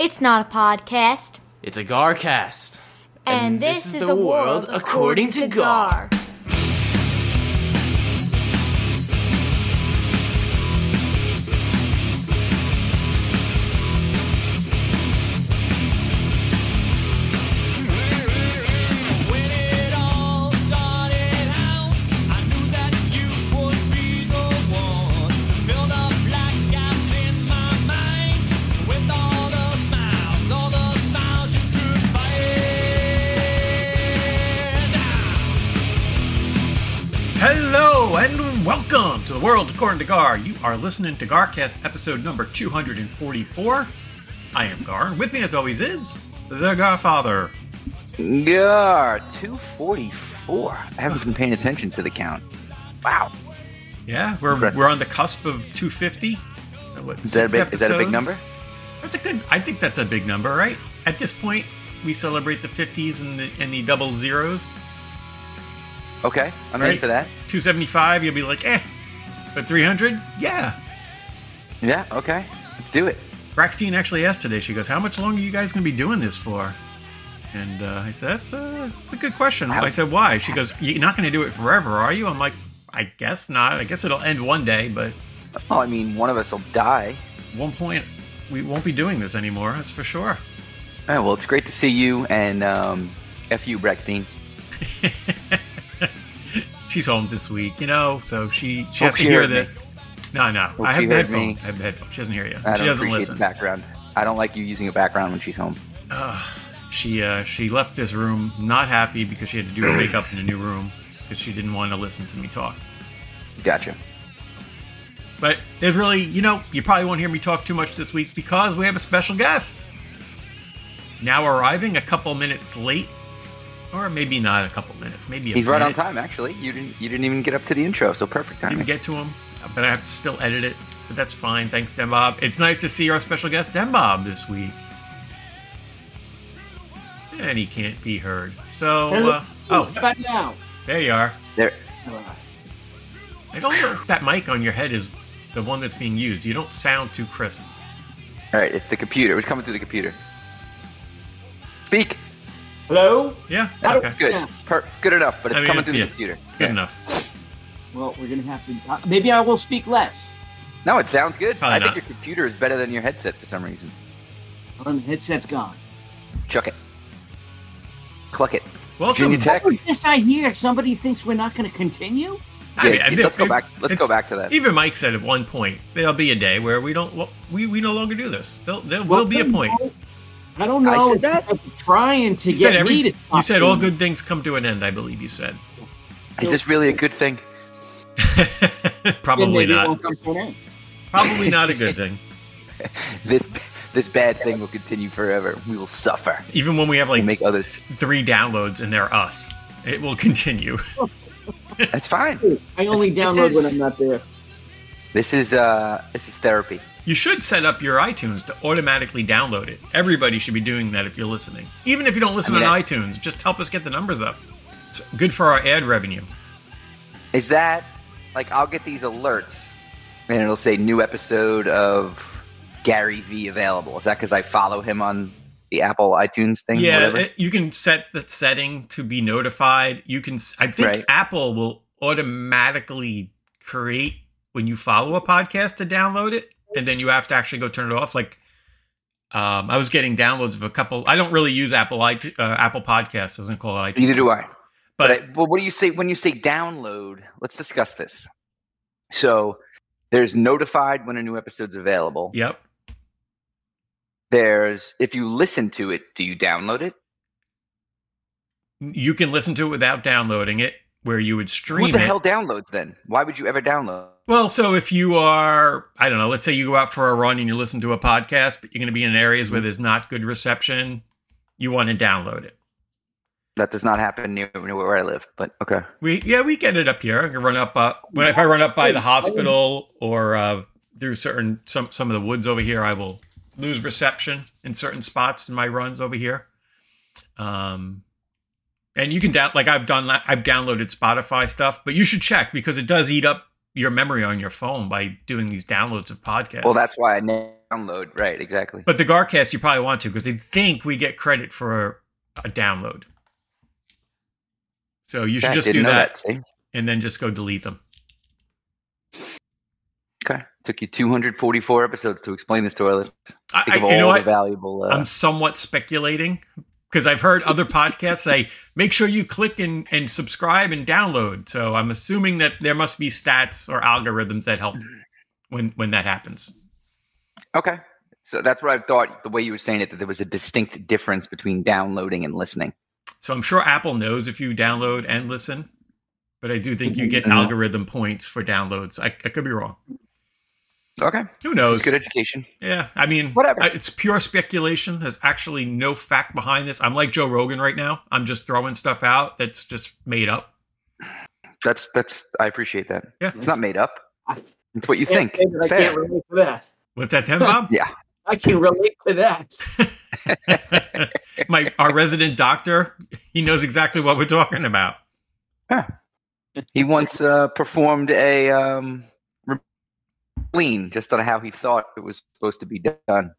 It's not a podcast. It's a Garcast. And this is the world according to Gar. Hello and welcome to the world according to Gar. You are listening to Garcast episode number 244. I am Gar, and with me as always is the Garfather. Gar, 244. I haven't been paying attention to the count. Wow. Yeah, we're on the cusp of 250. Is that a big number? I think that's a big number, right? At this point, we celebrate the 50s and the double zeros. Okay, I'm ready for that. 275, you'll be like, But 300, yeah. Yeah, okay. Let's do it. Braxtine actually asked today, she goes, how much longer are you guys going to be doing this for? And I said, that's a good question. I said, why? She goes, you're not going to do it forever, are you? I'm like, I guess not. I guess it'll end one day, but... Oh, I mean, one of us will die. At one point, we won't be doing this anymore, that's for sure. All right, well, it's great to see you, and F you, Braxtine. She's home this week, so she has to hear this. No. I have the headphone. She doesn't hear you. She doesn't listen. The background. I don't like you using a background when she's home. She left this room not happy because she had to do her makeup in a new room because she didn't want to listen to me talk. Gotcha. But there's really, you probably won't hear me talk too much this week because we have a special guest. Now arriving a couple minutes late. Or maybe not a couple minutes. Maybe he's right on time. Actually, you didn't even get up to the intro, so perfect timing. Didn't get to him, but I have to still edit it. But that's fine. Thanks, Dembob. It's nice to see our special guest, Dembob, this week. And he can't be heard. So, how about now? There you are. There. I don't know if that mic on your head is the one that's being used. You don't sound too crisp. All right, it's the computer. It was coming through the computer. Speak. Hello? Yeah, okay. Good. Yeah. Good enough, but it's coming through the computer. Good enough. Well, we're going to have to... maybe I will speak less. No, it sounds good. Probably I not. think your computer is better than your headset for some reason. The headset's gone. Chuck it. Cluck it. Welcome. Virginia Tech. What was this I hear? Somebody thinks we're not going to continue? Let's go back to that. Even Mike said at one point, there'll be a day where we no longer do this. There will be a point. I don't know. I said that? Trying to get me to stop. You said all good things come to an end, I believe you said. Is this really a good thing? Probably not. Probably not a good thing. This bad thing will continue forever. We will suffer. Even when we have make others 3 downloads and they're us, it will continue. That's fine. I only download when I'm not there. This is therapy. You should set up your iTunes to automatically download it. Everybody should be doing that if you're listening. Even if you don't listen on iTunes, just help us get the numbers up. It's good for our ad revenue. Is that, I'll get these alerts, and it'll say new episode of Gary V available. Is that because I follow him on the Apple iTunes thing? Yeah, you can set the setting to be notified. I think Apple will automatically create when you follow a podcast to download it. And then you have to actually go turn it off. I was getting downloads of a couple. I don't really use Apple Podcasts. I doesn't call it iTunes. Neither do I. But what do you say when you say download? Let's discuss this. So there's notified when a new episode's available. Yep. There's if you listen to it, do you download it? You can listen to it without downloading it, where you would stream it. Who the hell downloads then? Why would you ever download? Well, so if you are, I don't know, let's say you go out for a run and you listen to a podcast, but you're going to be in areas where there's not good reception, you want to download it. That does not happen near where I live, but okay. We get it up here. I can run up, if I run up by the hospital or through some of the woods over here, I will lose reception in certain spots in my runs over here. And you can I've downloaded Spotify stuff, but you should check because it does eat up your memory on your phone by doing these downloads of podcasts. Well, that's why I never download. Right, exactly. But the Garcast, you probably want to because they think we get credit for a download. So you should just do that and then just go delete them. Okay. Took you 244 episodes to explain this to our listeners. You know what? Valuable, I'm somewhat speculating because I've heard other podcasts say, make sure you click and subscribe and download. So I'm assuming that there must be stats or algorithms that help when that happens. Okay. So that's what I thought, the way you were saying it, that there was a distinct difference between downloading and listening. So I'm sure Apple knows if you download and listen, but I do think you get algorithm points for downloads. I could be wrong. Okay. Who knows? It's good education. Yeah. I mean, whatever. It's pure speculation. There's actually no fact behind this. I'm like Joe Rogan right now. I'm just throwing stuff out that's just made up. That's. I apprate that. Yeah. It's not made up. It's what you think. I can't relate to that. What's that, Tim Bob? Yeah. I can relate to that. Our resident doctor, he knows exactly what we're talking about. Huh. He once performed a lean just on how he thought it was supposed to be done.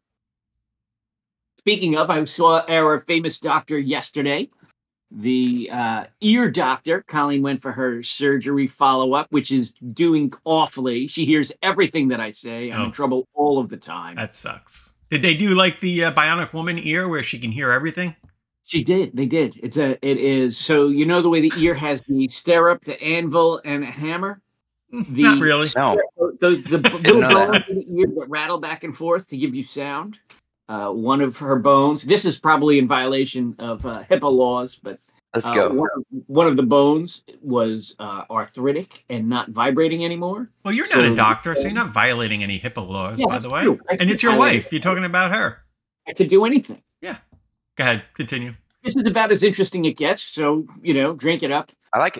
Speaking of, I saw our famous doctor yesterday. The ear doctor, Colleen, went for her surgery follow-up, which is doing awfully. She hears everything that I say. I'm in trouble all of the time. That sucks. Did they do like the Bionic Woman ear where she can hear everything? She did. They did. It is. So you know the way the ear has the stirrup, the anvil, and a hammer? Not really. No. The little bones in the ear that rattle back and forth to give you sound. One of her bones. This is probably in violation of HIPAA laws, but let's go. One of the bones was arthritic and not vibrating anymore. Well, you're not a doctor, so you're not violating any HIPAA laws, by the way. And it's your wife. You're talking about her. I could do anything. Yeah. Go ahead. Continue. This is about as interesting it gets. So, drink it up. I like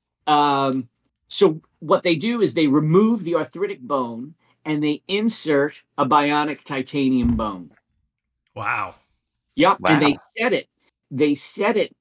it. So what they do is they remove the arthritic bone and they insert a bionic titanium bone. Wow. Yep. Wow. And they set it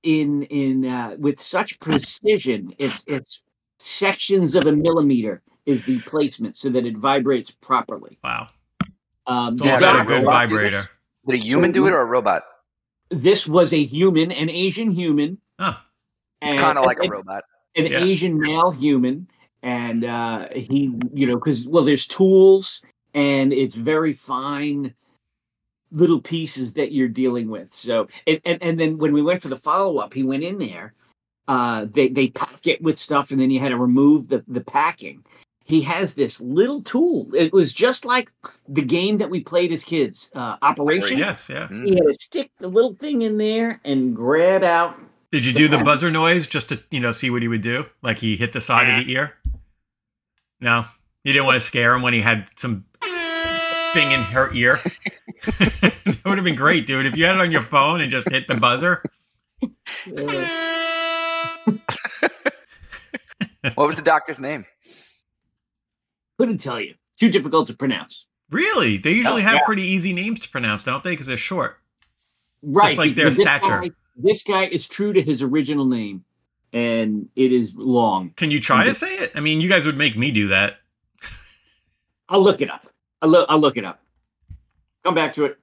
in with such precision. It's sections of a millimeter is the placement so that it vibrates properly. Wow. It's all about a good vibrator. Did a human do it or a robot? This was a human, an Asian human. Huh. Kind of like a robot. An Asian male human. And he, because, there's tools and it's very fine little pieces that you're dealing with. So, and then when we went for the follow-up, he went in there, they pack it with stuff and then you had to remove the packing. He has this little tool. It was just like the game that we played as kids, Operation. Yes, yeah. He had to stick the little thing in there and grab out. Did you do the buzzer noise just to, see what he would do? Like he hit the side of the ear? No, you didn't want to scare him when he had some thing in her ear. That would have been great, dude. If you had it on your phone and just hit the buzzer. What was the doctor's name? Couldn't tell you. Too difficult to pronounce. Really? They usually have pretty easy names to pronounce, don't they? Because they're short. Right. Just like their stature. This guy is true to his original name, and it is long. Can you try to say it? I mean, you guys would make me do that. I'll look it up. I'll look it up. Come back to it.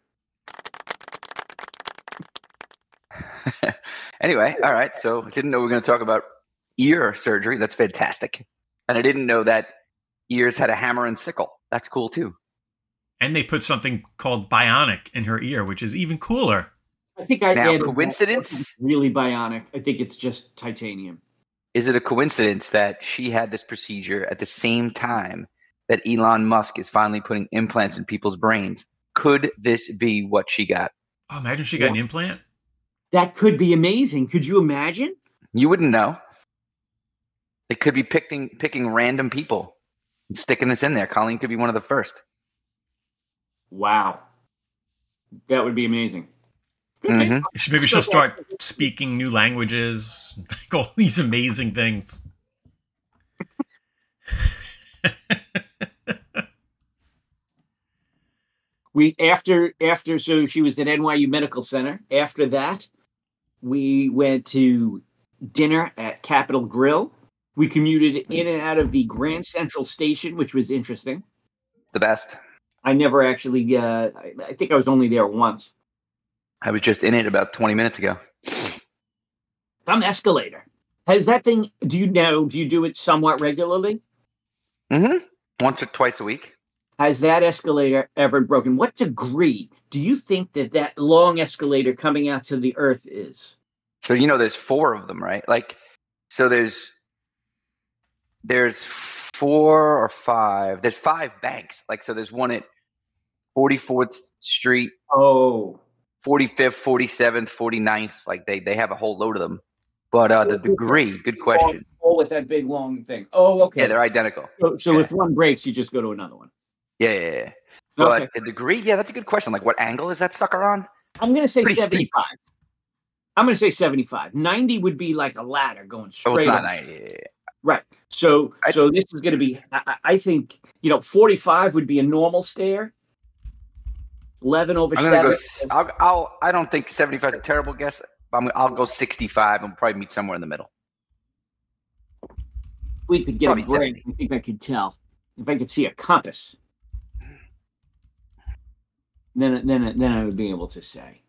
Anyway, all right. So I didn't know we were going to talk about ear surgery. That's fantastic. And I didn't know that ears had a hammer and sickle. That's cool, too. And they put something called bionic in her ear, which is even cooler. I think I now, coincidence? Really bionic. I think it's just titanium. Is it a coincidence that she had this procedure at the same time that Elon Musk is finally putting implants in people's brains? Could this be what she got? Oh, imagine she got an implant. That could be amazing. Could you imagine? You wouldn't know. It could be picking random people and sticking this in there. Colleen could be one of the first. Wow. That would be amazing. Mm-hmm. Maybe she'll start speaking new languages, like all these amazing things. So she was at NYU Medical Center. After that, we went to dinner at Capitol Grill. We commuted in and out of the Grand Central Station, which was interesting. The best. I never actually. I think I was only there once. I was just in it about 20 minutes ago. Some escalator. Has that thing? Do you do it somewhat regularly? Mm-hmm. Once or twice a week. Has that escalator ever broken? What degree do you think that long escalator coming out to the earth is? So there's 4 of them, right? Like, so there's 4 or 5. There's 5 banks. Like, so there's one at 44th Street. Oh. 45th, 47th, 49th. Like they have a whole load of them. But the degree, good question. Oh, with that big long thing. Oh, okay. Yeah, they're identical. So if one breaks, you just go to another one. Yeah. But the degree, yeah, that's a good question. Like, what angle is that sucker on? I'm going to say Pretty 75. steep. I'm going to say 75. 90 would be like a ladder going straight. Oh, it's not up. 90. Yeah. Right. So this is going to be. I think 45 would be a normal stair. 11 over 7. I don't think 75 is a terrible guess. I'll go 65 and we'll probably meet somewhere in the middle. We could get Probably a break. 70. I think I could tell if I could see a compass. Then I would be able to say.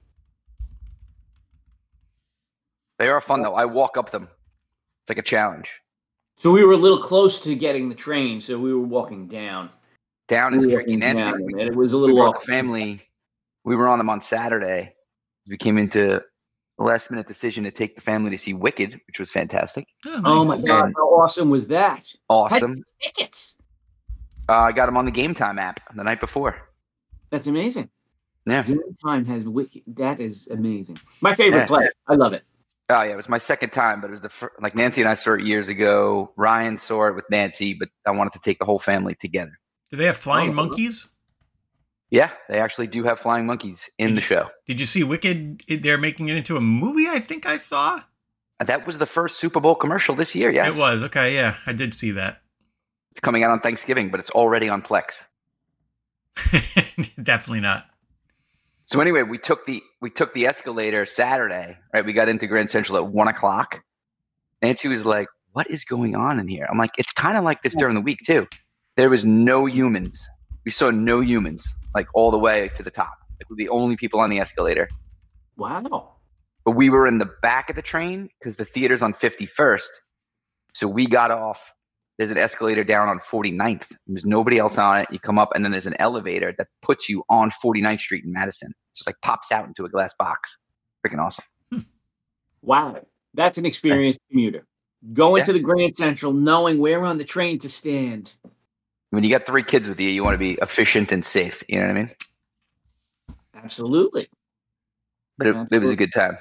They are fun though. I walk up them. It's like a challenge. So we were a little close to getting the train, so we were walking down. Down is tricky. And Nancy, it was a little we off. brought the family. We were on them on Saturday. We came into a last-minute decision to take the family to see Wicked, which was fantastic. Oh my God! How awesome was that? Awesome. Tickets. I got them on the Game Time app the night before. That's amazing. Yeah. Game Time has Wicked. That is amazing. My favorite player. I love it. Oh yeah, it was my second time, but it was like Nancy and I saw it years ago. Ryan saw it with Nancy, but I wanted to take the whole family together. Do they have flying monkeys? Yeah, they actually do have flying monkeys in the show. Did you see Wicked? They're making it into a movie, I think I saw. That was the first Super Bowl commercial this year, yes. It was. Okay, yeah, I did see that. It's coming out on Thanksgiving, but it's already on Plex. Definitely not. So anyway, we took the escalator Saturday, right? We got into Grand Central at 1:00. Nancy was like, "What is going on in here?" I'm like, "It's kind of like this during the week too. There was no humans. We saw no humans, like all the way to the top. Like we're the only people on the escalator. Wow. But we were in the back of the train because the theater's on 51st. So we got off. There's an escalator down on 49th. There's nobody else on it. You come up, and then there's an elevator that puts you on 49th Street in Madison. It just like pops out into a glass box. Freaking awesome. Wow. That's an experienced commuter. Going to the Grand Central, knowing where on the train to stand. When you got 3 kids with you, you want to be efficient and safe. You know what I mean? Absolutely. But it was a good time.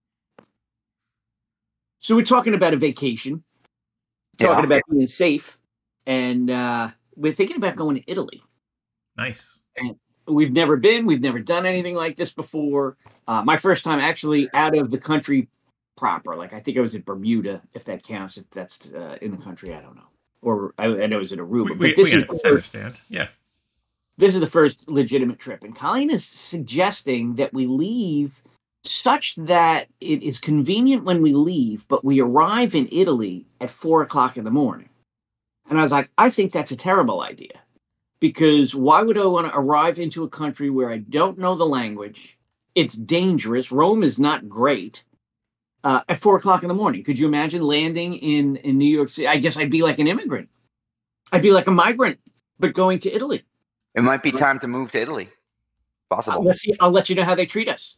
So we're talking about a vacation. Talking about being safe. And we're thinking about going to Italy. Nice. And we've never been. We've never done anything like this before. My first time actually out of the country proper. Like I think I was at Bermuda, if that counts. If that's in the country, I don't know. Or I know it was in Aruba. I understand. Yeah. This is the first legitimate trip. And Colleen is suggesting that we leave such that it is convenient when we leave, but we arrive in Italy at 4:00 in the morning. And I was like, I think that's a terrible idea. Because why would I want to arrive into a country where I don't know the language? It's dangerous. Rome is not great. At 4:00 in the morning. Could you imagine landing in New York City? I guess I'd be like an immigrant. I'd be like a migrant, but going to Italy. It might be time to move to Italy. Possible. I'll let you know how they treat us.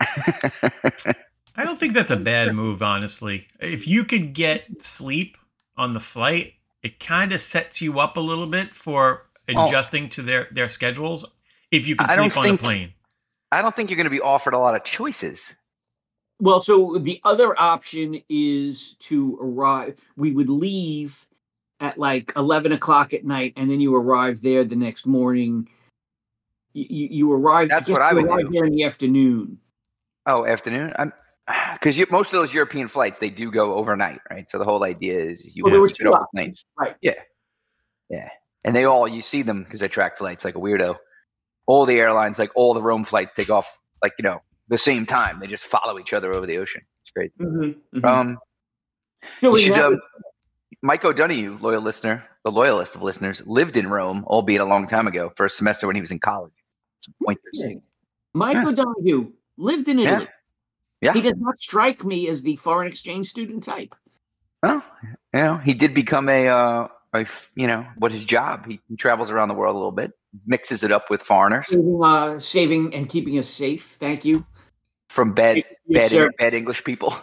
I don't think that's a bad move, honestly. If you could get sleep on the flight, it kind of sets you up a little bit for adjusting to their schedules. If you can sleep on a plane. I don't think you're going to be offered a lot of choices. Well, so the other option is to arrive. We would leave at like 11:00 at night, and then you arrive there the next morning. You arrive. That's what I would arrive do. there in the afternoon. Oh, afternoon. Because most of those European flights, they do go overnight, right? So the whole idea is you have to get off the plane. Right. Yeah. And you see them because I track flights like a weirdo. All the airlines, like all the Rome flights, take off the same time. They just follow each other over the ocean. It's crazy. Mm-hmm. Mike O'Donoghue, loyal listener, the loyalist of listeners, lived in Rome, albeit a long time ago, for a semester when he was in college. Some pointers. Mike O'Donoghue lived in Italy. Yeah. He does not strike me as the foreign exchange student type. Well, he did become what his job. He travels around the world a little bit, mixes it up with foreigners. Saving and keeping us safe. Thank you. From bad English people.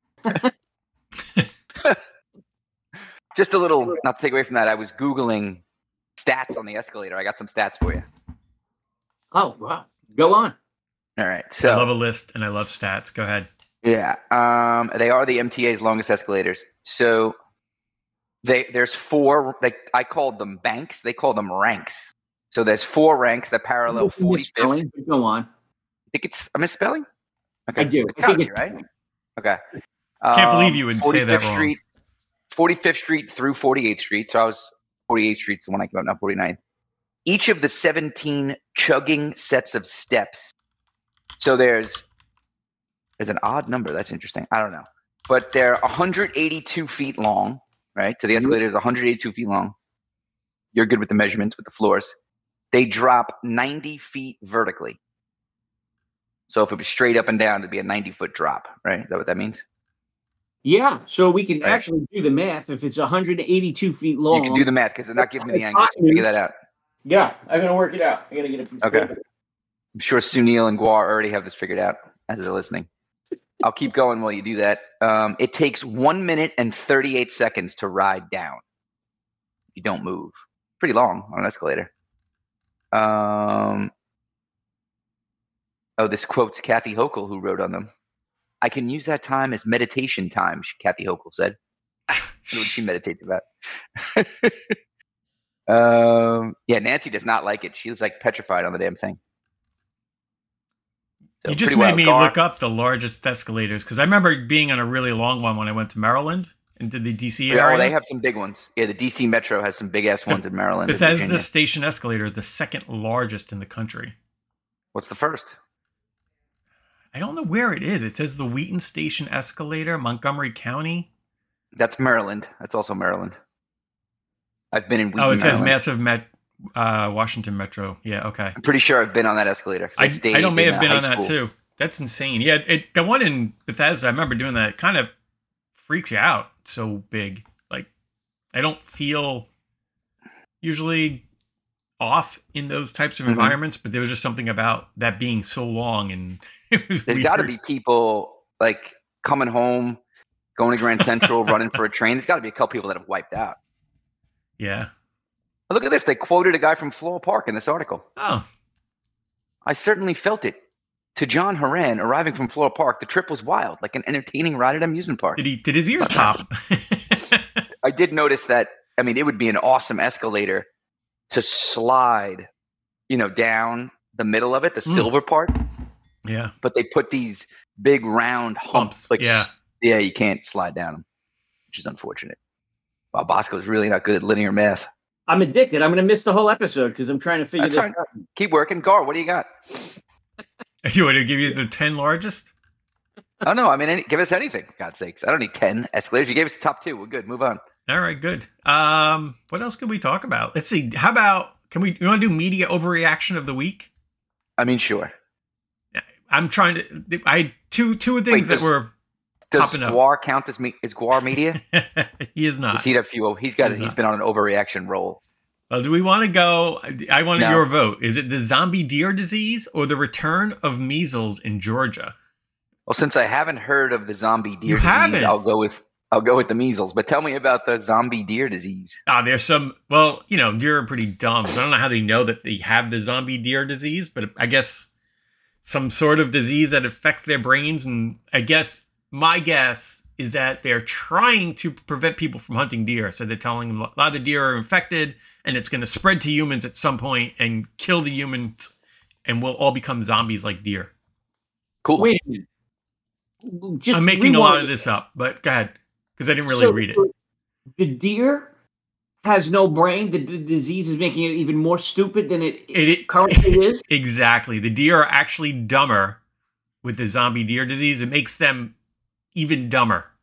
Just a little, not to take away from that, I was Googling stats on the escalator. I got some stats for you. Oh, wow. Go on. All right. So I love a list and I love stats. Go ahead. Yeah. They are the MTA's longest escalators. So there's 4, I called them banks. They call them ranks. So there's 4 ranks that parallel 45th. Go on. I think it's a misspelling? Okay. I do. I think it's right. Okay. Can't believe you would say that wrong. 45th Street through 48th Street. So 48th Street's the one I came up, not 49th. Each of the 17 chugging sets of steps. So there's an odd number. That's interesting. I don't know. But they're 182 feet long, right? So the escalator is 182 feet long. You're good with the measurements with the floors. They drop 90 feet vertically. So if it was straight up and down, it'd be a 90-foot drop, right? Is that what that means? Yeah. So we can actually do the math. If it's 182 feet long. You can do the math because they're not giving me the angles. Figure that out. Yeah. I'm going to work it out. I got to get a piece of paper. I'm sure Sunil and Guar already have this figured out as they're listening. I'll keep going while you do that. It takes 1 minute and 38 seconds to ride down. You don't move. Pretty long on an escalator. This quotes Kathy Hochul, who wrote on them. I can use that time as meditation time, Kathy Hochul said. I don't know what she meditates about. Nancy does not like it. She was like petrified on the damn thing. So you just made me look up the largest escalators because I remember being on a really long one when I went to Maryland and did the DC area. Oh, they have some big ones. Yeah, the DC Metro has some big ass ones in Maryland. Bethesda Station escalator is the second largest in the country. What's the first? I don't know where it is. It says the Wheaton Station escalator, Montgomery County. That's Maryland. That's also Maryland. I've been in Wheaton, it says Maryland. massive Washington Metro. Yeah, okay. I'm pretty sure I've been on that escalator. I may have been on that too. That's insane. Yeah, the one in Bethesda, I remember doing that. It kind of freaks you out. It's so big. Like, I don't feel usually off in those types of environments, but there was just something about that being so long, and it was There's got to be people like coming home, going to Grand Central, running for a train. There's got to be a couple people that have wiped out. Yeah. Look at this. They quoted a guy from Floral Park in this article. Oh. I certainly felt it. To John Horan, arriving from Floral Park, the trip was wild, like an entertaining ride at an amusement park. Did his ears pop? I did notice that. I mean, it would be an awesome escalator to slide, down the middle of it, the silver part. Yeah. But they put these big round humps. Yeah, you can't slide down them, which is unfortunate. Wow, Bosco's really not good at linear math. I'm addicted. I'm going to miss the whole episode because I'm trying to figure this out. Keep working. Gar, what do you got? You want to give you the 10 largest? Oh, no. I mean, give us anything, for God's sakes. I don't need 10 escalators. You gave us the top 2. We're good. Move on. All right, good. What else could we talk about? Let's see. How about, you want to do media overreaction of the week? I mean, sure. I'm trying to, I had two things that were popping up. Does Guar count as is Guar media? He is not. He's been on an overreaction roll. Well, do we want to go? I want your vote. Is it the zombie deer disease or the return of measles in Georgia? Well, since I haven't heard of the zombie deer disease, I'll go with the measles. But tell me about the zombie deer disease. There's some. Well, deer are pretty dumb. So I don't know how they know that they have the zombie deer disease, but I guess some sort of disease that affects their brains. And I guess my guess is that they're trying to prevent people from hunting deer. So they're telling them a lot of the deer are infected and it's going to spread to humans at some point and kill the humans and we'll all become zombies like deer. Cool. Wait a minute. I'm making a lot of this up, but go ahead, because I didn't really read it. The deer has no brain. The disease is making it even more stupid than it currently is? Exactly. The deer are actually dumber with the zombie deer disease. It makes them even dumber.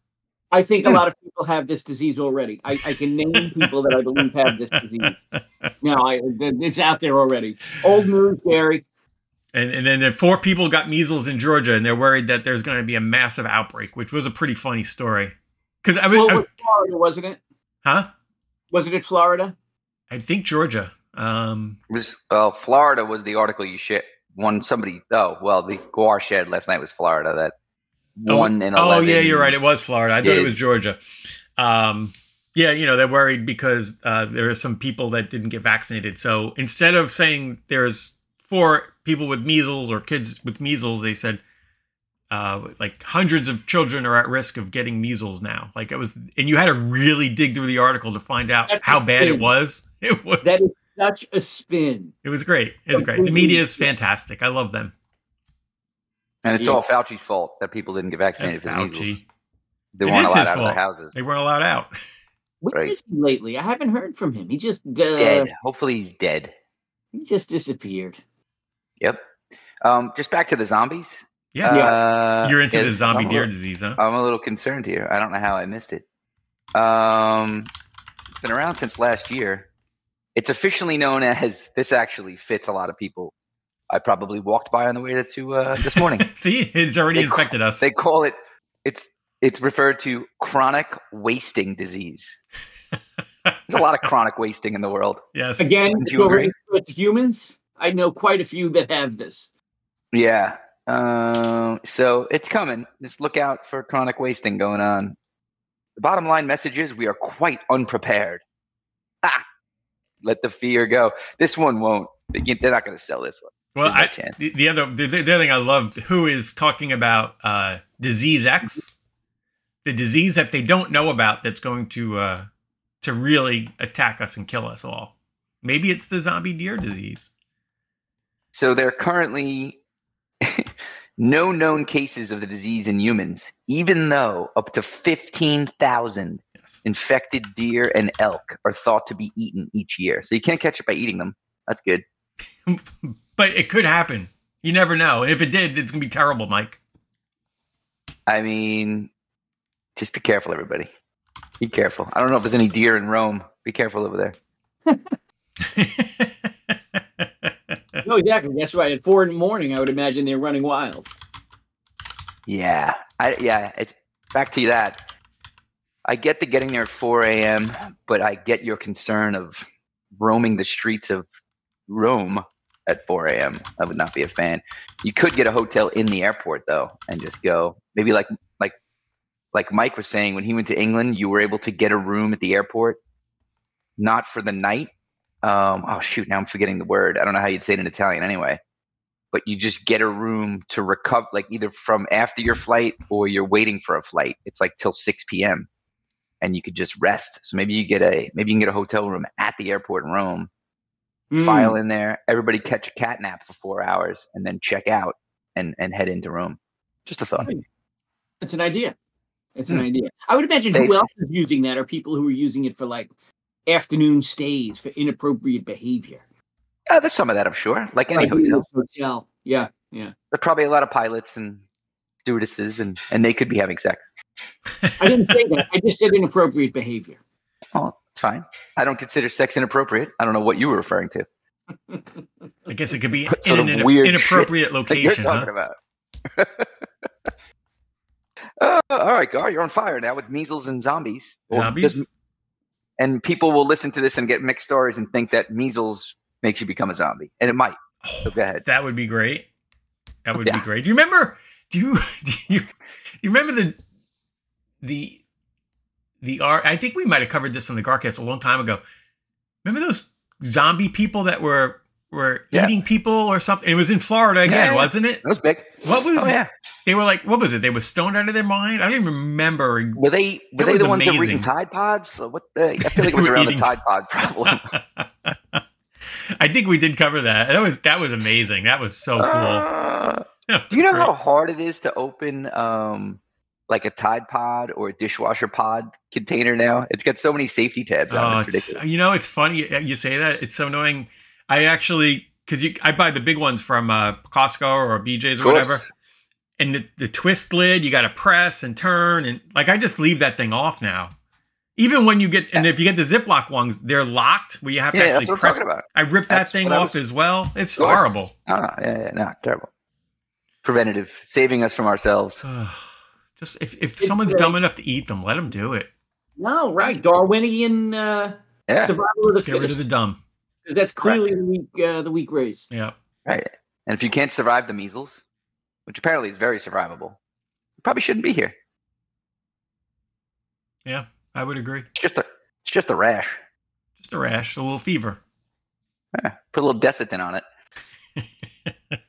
I think a lot of people have this disease already. I can name people that I believe have this disease. Now, it's out there already. Old news, Gary. And then the 4 people got measles in Georgia, and they're worried that there's going to be a massive outbreak, which was a pretty funny story. Because it was Florida, wasn't it? Huh? Wasn't it Florida? I think Georgia. Florida was the article you shared. The Guar shared last night was Florida. That 1 in 11. Oh yeah, you're right. It was Florida. I thought it was Georgia. They're worried because there are some people that didn't get vaccinated. So instead of saying there's 4 people with measles or kids with measles, they said like hundreds of children are at risk of getting measles now. Like it was, and you had to really dig through the article to find out how bad it was. It was. That is such a spin. It was great. It's great. The media is fantastic. I love them. And it's all Fauci's fault that people didn't get vaccinated for measles. They weren't allowed out of their houses. They weren't allowed out. Where is he lately? I haven't heard from him. He just dead. Hopefully he's dead. He just disappeared. Yep. Just back to the zombies. Yeah. You're into the zombie deer disease, huh? I'm a little concerned here. I don't know how I missed it. It's been around since last year. It's officially known as, this actually fits a lot of people. I probably walked by on the way to this morning. See, it's already infected us. They call it, it's referred to chronic wasting disease. There's a lot of chronic wasting in the world. Yes. Again, with humans, I know quite a few that have this. Yeah. So it's coming. Just look out for chronic wasting going on. The bottom line message is we are quite unprepared. Let the fear go. This one won't. They're not going to sell this one. Well, the other thing I love, who is talking about disease X, the disease that they don't know about that's going to really attack us and kill us all. Maybe it's the zombie deer disease. So there are currently no known cases of the disease in humans, even though up to 15,000 infected deer and elk are thought to be eaten each year. So you can't catch it by eating them. That's good. But it could happen. You never know. And if it did, it's going to be terrible, Mike. I mean, just be careful, everybody. Be careful. I don't know if there's any deer in Rome. Be careful over there. No, exactly. That's right. At 4 a.m, I would imagine they're running wild. Yeah. It's back to that. I get the getting there at 4 a.m., but I get your concern of roaming the streets of Rome at 4 a.m. I would not be a fan. You could get a hotel in the airport though, and just go. Maybe like Mike was saying, when he went to England, you were able to get a room at the airport, not for the night. Now I'm forgetting the word. I don't know how you'd say it in Italian anyway. But you just get a room to recover, like either from after your flight or you're waiting for a flight. It's like till 6 p.m. and you could just rest. So maybe you can get a hotel room at the airport in Rome. File in there, everybody catch a cat nap for 4 hours, and then check out and head into Rome. Just a thought. It's an idea. It's an idea. I would imagine who else is using that are people who are using it for like afternoon stays for inappropriate behavior. There's some of that, I'm sure. Like any hotel. Yeah. There's probably a lot of pilots and stewardesses, and they could be having sex. I didn't say that. I just said inappropriate behavior. Oh, it's fine. I don't consider sex inappropriate. I don't know what you were referring to. I guess it could be in an inappropriate location. You're talking about. All right, Gar, you're on fire now with measles and zombies. Zombies? And people will listen to this and get mixed stories and think that measles makes you become a zombie. And it might. So go ahead. That would be great. That would be great. Do you remember the I think we might have covered this on the Garcast a long time ago. Remember those zombie people that were eating people or something? It was in Florida again, wasn't it? It was big. What was it? They were like, what was it? They were stoned out of their mind? I don't even remember. Were they the ones that were eating Tide Pods? I feel like it was around the Tide Pod problem. I think we did cover that. That was amazing. That was so cool. Do you know how hard it is to open like a Tide Pod or a dishwasher pod container now? It's got so many safety tabs on it. It's ridiculous. It's funny you say that. It's so annoying. I actually, because I buy the big ones from Costco or BJ's or whatever. And the twist lid, you got to press and turn. And like, I just leave that thing off now. Even when you get, and if you get the Ziploc ones, they're locked where you have to actually press. I ripped that thing off as well. It's horrible. No, terrible. Preventative, saving us from ourselves. Just if someone's dumb enough to eat them, let them do it. No, right. Darwinian survival of the fittest. Get rid of the dumb. Because that's clearly the weak race. Yeah. Right. And if you can't survive the measles, which apparently is very survivable, you probably shouldn't be here. Yeah, I would agree. It's just a rash. Just a rash, a little fever. Yeah, put a little Desitin on it.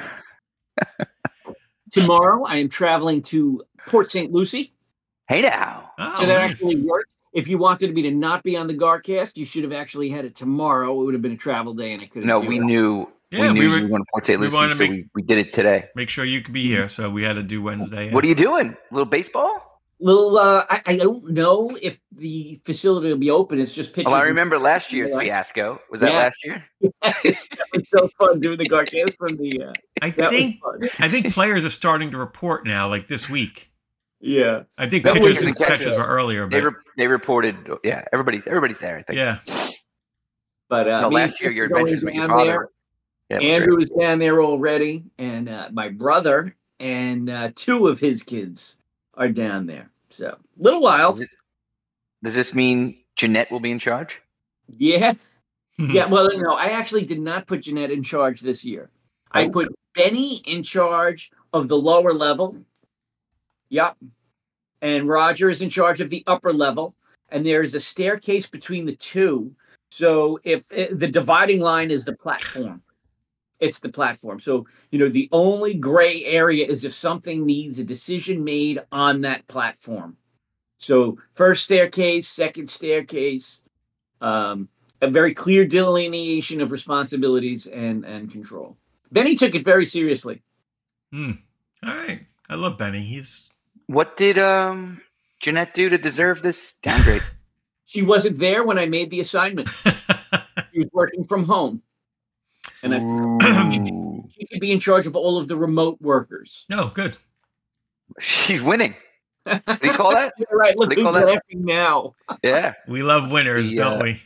Tomorrow, I am traveling to Port St. Lucie. Hey now. Oh, so that actually worked. If you wanted me to not be on the Garcast, you should have actually had it tomorrow. It would have been a travel day, and I couldn't. No, we knew. Yeah, we were going to Port St. Lucie, so we did it today. Make sure you could be here, so we had to do Wednesday. What are you doing? A little baseball? I don't know if the facility will be open. It's just pitches. Well, I remember last year's fiasco. Was that last year? It's so fun doing the Garcast from the. I think players are starting to report now, like this week. Yeah, I think pitchers and catchers were earlier, but they reported. Yeah, everybody's there. I think. Yeah, but last year your adventures with your father. Yeah, Andrew was down there already, and my brother and two of his kids are down there. So a little wild. Does this mean Jeanette will be in charge? Yeah. Yeah. Well, no, I actually did not put Jeanette in charge this year. I put Benny in charge of the lower level. Yep. And Roger is in charge of the upper level. And there is a staircase between the two. So if the dividing line is the platform, it's the platform. So, the only gray area is if something needs a decision made on that platform. So first staircase, second staircase, a very clear delineation of responsibilities and control. Benny took it very seriously. All right. I love Benny. What did Jeanette do to deserve this downgrade? She wasn't there when I made the assignment. She was working from home. And she could be in charge of all of the remote workers. No, good. She's winning. Do you call that? Yeah, right. Look who's laughing now. Yeah. We love winners, don't we?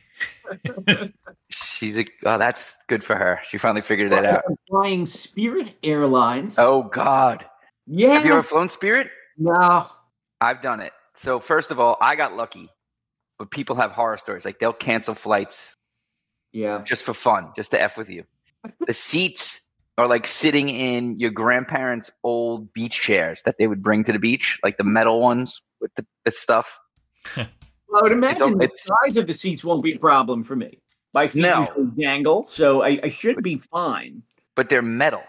That's good for her. She finally figured that out. Flying Spirit Airlines. Oh, God. Yeah. Have you ever flown Spirit? No. I've done it. So first of all, I got lucky. But people have horror stories. Like they'll cancel flights. Yeah. Just for fun, just to F with you. The seats are like sitting in your grandparents' old beach chairs that they would bring to the beach, like the metal ones with the stuff. Well, I would imagine the size of the seats won't be a problem for me. My feet usually dangle, so I should be fine. But they're metal.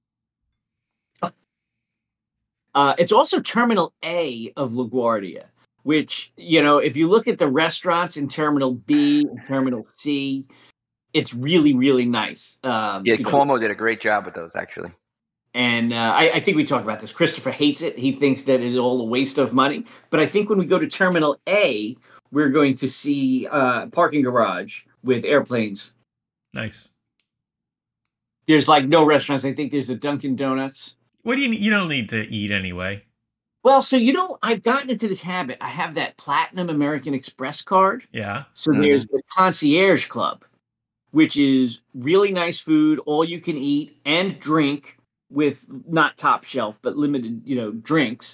It's also Terminal A of LaGuardia, which, if you look at the restaurants in Terminal B and Terminal C, it's really, really nice. Cuomo did a great job with those, actually. And I think we talked about this. Christopher hates it. He thinks that it's all a waste of money. But I think when we go to Terminal A, we're going to see parking garage with airplanes. Nice. There's no restaurants. I think there's a Dunkin' Donuts. What do you don't need to eat anyway. Well, so, I've gotten into this habit. I have that Platinum American Express card. Yeah. So there's the Concierge Club, which is really nice food, all you can eat and drink with not top shelf, but limited, drinks.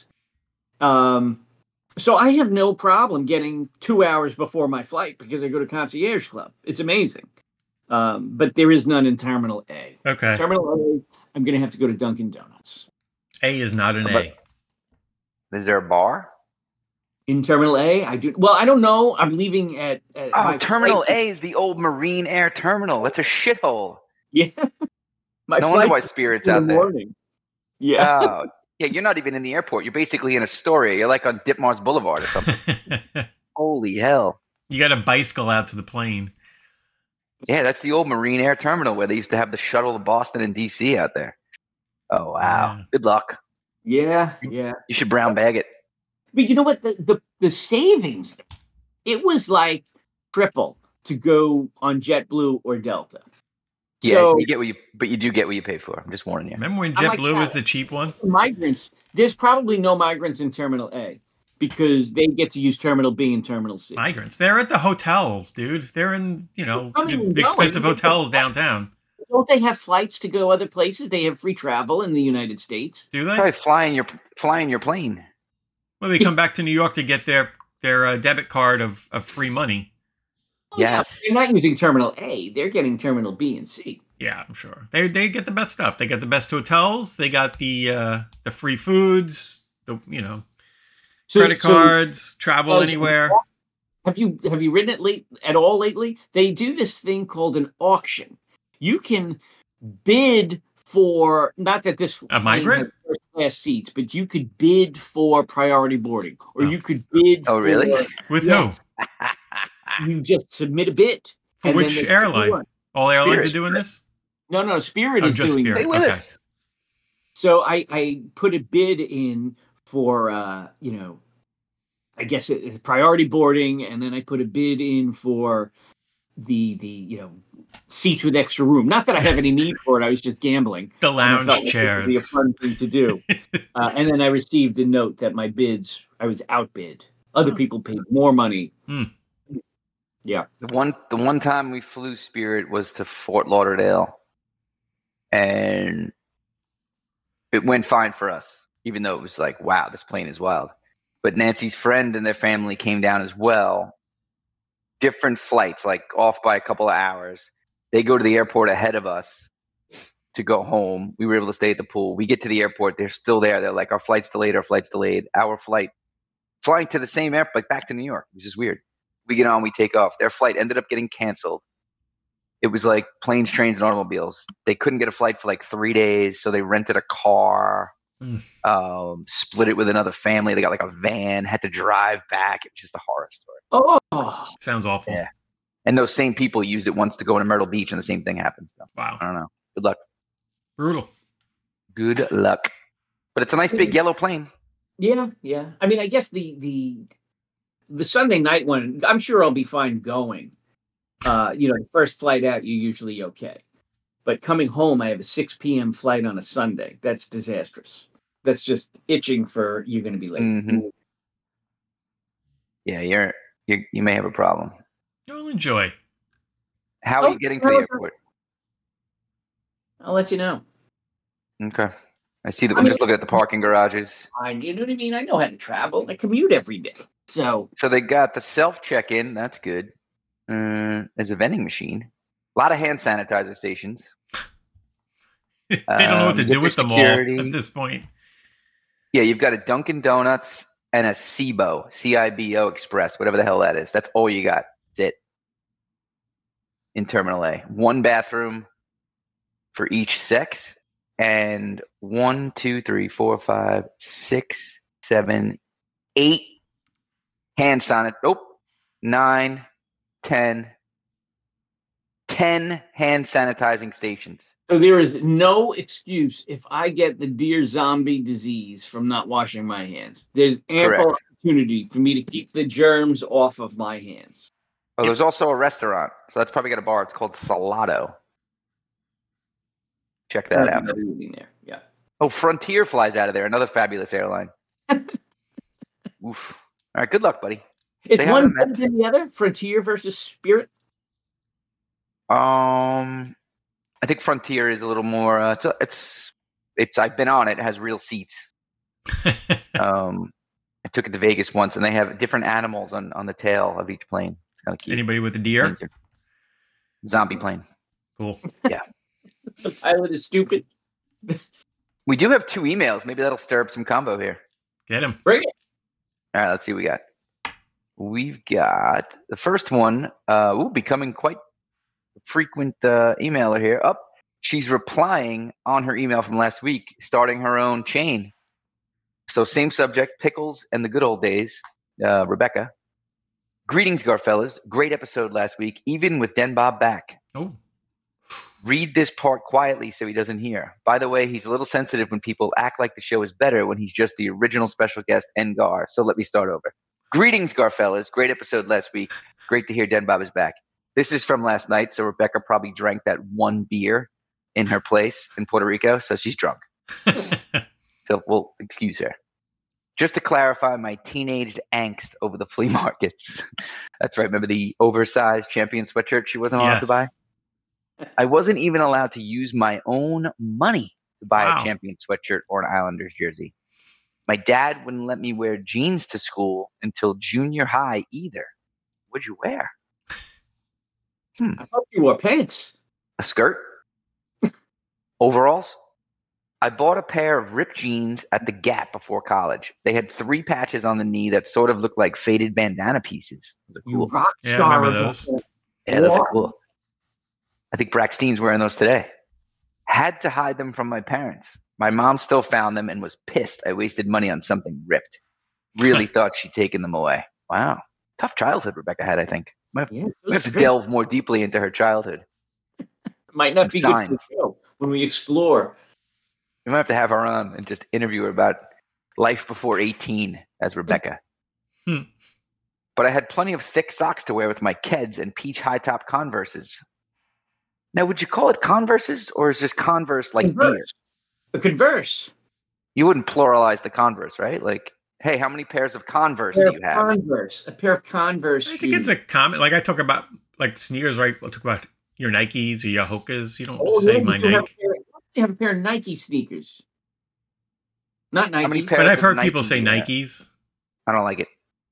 So I have no problem getting 2 hours before my flight because I go to Concierge Club. It's amazing. But there is none in Terminal A. Okay. Terminal A, I'm going to have to go to Dunkin' Donuts. A is not an A. Is there a bar? In Terminal A, I do. Well, I don't know. I'm leaving at Terminal A is the old Marine Air Terminal. That's a shithole. Yeah. No wonder why Spirit's out there. Yeah. Yeah, you're not even in the airport. You're basically in Astoria. You're like on Ditmars Boulevard or something. Holy hell. You got to bicycle out to the plane. Yeah, that's the old Marine Air Terminal where they used to have the shuttle to Boston and D.C. out there. Oh, wow. Yeah. Good luck. Yeah. You should brown bag it. But you know what? The savings, it was like triple to go on JetBlue or Delta. Yeah, So, you get but you do get what you pay for. I'm just warning you. Remember when JetBlue was the cheap one? Migrants. There's probably no migrants in Terminal A because they get to use Terminal B and Terminal C. Migrants. They're at the hotels, dude. They're in, the expensive hotels downtown. Don't they have flights to go other places? They have free travel in the United States. Do they? Probably flying your plane. Well, they come back to New York to get their debit card of free money. Yes. They're not using Terminal A. They're getting Terminal B and C. Yeah, I'm sure. They get the best stuff. They got the best hotels. They got the free foods. Credit cards. Travel anywhere. Have you ridden it at all lately? They do this thing called an auction. You can bid for, not that this a migrant first class seats, but you could bid for priority boarding, or you could bid. Oh, really? With who? You just submit a bid. For which airline? All airlines are doing this? No, Spirit is doing Spirit. it. Okay. So I put a bid in for, I guess it's priority boarding, and then I put a bid in for the seats with extra room. Not that I have any need for it. I was just gambling. The lounge chairs. It would be a fun thing to do. And then I received a note that my bids, I was outbid. Other people paid more money. Yeah. The one time we flew Spirit was to Fort Lauderdale, and it went fine for us, even though it was like, wow, this plane is wild. But Nancy's friend and their family came down as well. Different flights, like off by a couple of hours. They go to the airport ahead of us to go home. We were able to stay at the pool. We get to the airport. They're still there. They're like, our flight's delayed. Our flight, flying to the same airport, like back to New York, which is weird. We get on, we take off. Their flight ended up getting canceled. It was like planes, trains, and automobiles. They couldn't get a flight for like 3 days, so they rented a car, split it with another family. They got like a van, had to drive back. It was just a horror story. Oh, sounds awful. Yeah. And those same people used it once to go into Myrtle Beach, and the same thing happened. So, wow. I don't know. Good luck. Brutal. Good luck. But it's a nice big yellow plane. Yeah. I mean, I guess the Sunday night one, I'm sure I'll be fine going. The first flight out, you're usually okay. But coming home, I have a 6 p.m. flight on a Sunday. That's disastrous. That's just itching for you're going to be late. Mm-hmm. Yeah, you may have a problem. You'll enjoy. How are you getting to the airport? I'll let you know. Okay. I see that. I'm just looking at the parking garages. You know what I mean? I know how to travel. I commute every day. So they got the self check-in. That's good. There's a vending machine. A lot of hand sanitizer stations. They don't know what to do with them all at this point. Yeah, you've got a Dunkin' Donuts and a CIBO, CIBO Express, whatever the hell that is. That's all you got. That's it. In Terminal A. 1 bathroom for each sex. And 1, 2, 3, 4, 5, 6, 7, 8 hand sanitizer. Nope. 9, 10 hand sanitizing stations. So there is no excuse if I get the deer zombie disease from not washing my hands. There's ample opportunity for me to keep the germs off of my hands. Oh, there's also a restaurant. So that's probably got a bar. It's called Salado. Check that out. There. Yeah. Oh, Frontier flies out of there. Another fabulous airline. Oof. All right. Good luck, buddy. Is one better than the other? Frontier versus Spirit? I think Frontier is a little more. It's. I've been on it. It has real seats. I took it to Vegas once, and they have different animals on the tail of each plane. It's kind of cute. Anybody with a deer? Zombie plane. Cool. Yeah. The pilot is stupid. We do have 2 emails. Maybe that'll stir up some combo here. Get him. Bring it. All right, let's see what we got. We've got the first one, becoming quite a frequent emailer here. She's replying on her email from last week, starting her own chain. So same subject, pickles and the good old days. Rebecca. Greetings, Garfellas. Great episode last week, even with Den Bob back. Oh. Read this part quietly so he doesn't hear. By the way, he's a little sensitive when people act like the show is better when he's just the original special guest, Gar. So let me start over. Greetings, Garfellas. Great episode last week. Great to hear Den Bob is back. This is from last night, so Rebecca probably drank that one beer in her place in Puerto Rico, so she's drunk. So we'll excuse her. Just to clarify my teenage angst over the flea markets. That's right. Remember the oversized Champion sweatshirt she wasn't allowed to buy? I wasn't even allowed to use my own money to buy a Champion sweatshirt or an Islanders jersey. My dad wouldn't let me wear jeans to school until junior high either. What'd you wear? I thought you wore pants. A skirt? Overalls? I bought a pair of ripped jeans at the Gap before college. They had 3 patches on the knee that sort of looked like faded bandana pieces. Those are cool. Rock Yeah, star. I remember those. Yeah, those are cool. I think Braxton's wearing those today. Had to hide them from my parents. My mom still found them and was pissed I wasted money on something ripped. Really thought she'd taken them away. Wow. Tough childhood Rebecca had, I think. We have to delve more deeply into her childhood. Might not be good for the show when we explore. We might have to have her on and just interview her about life before 18 as Rebecca. But I had plenty of thick socks to wear with my Keds and peach high-top Converses. Now, would you call it Converses, or is this Converse like beer? A Converse. You wouldn't pluralize the Converse, right? Like, hey, how many pairs of Converse do you have? A pair of Converse. I think it's a comment. Like I talk about like sneakers, right? We'll talk about your Nikes or your Hokas. You don't say my Nike. You have a pair of Nike sneakers. Not Nikes. But I've heard people say Nikes. I don't like it.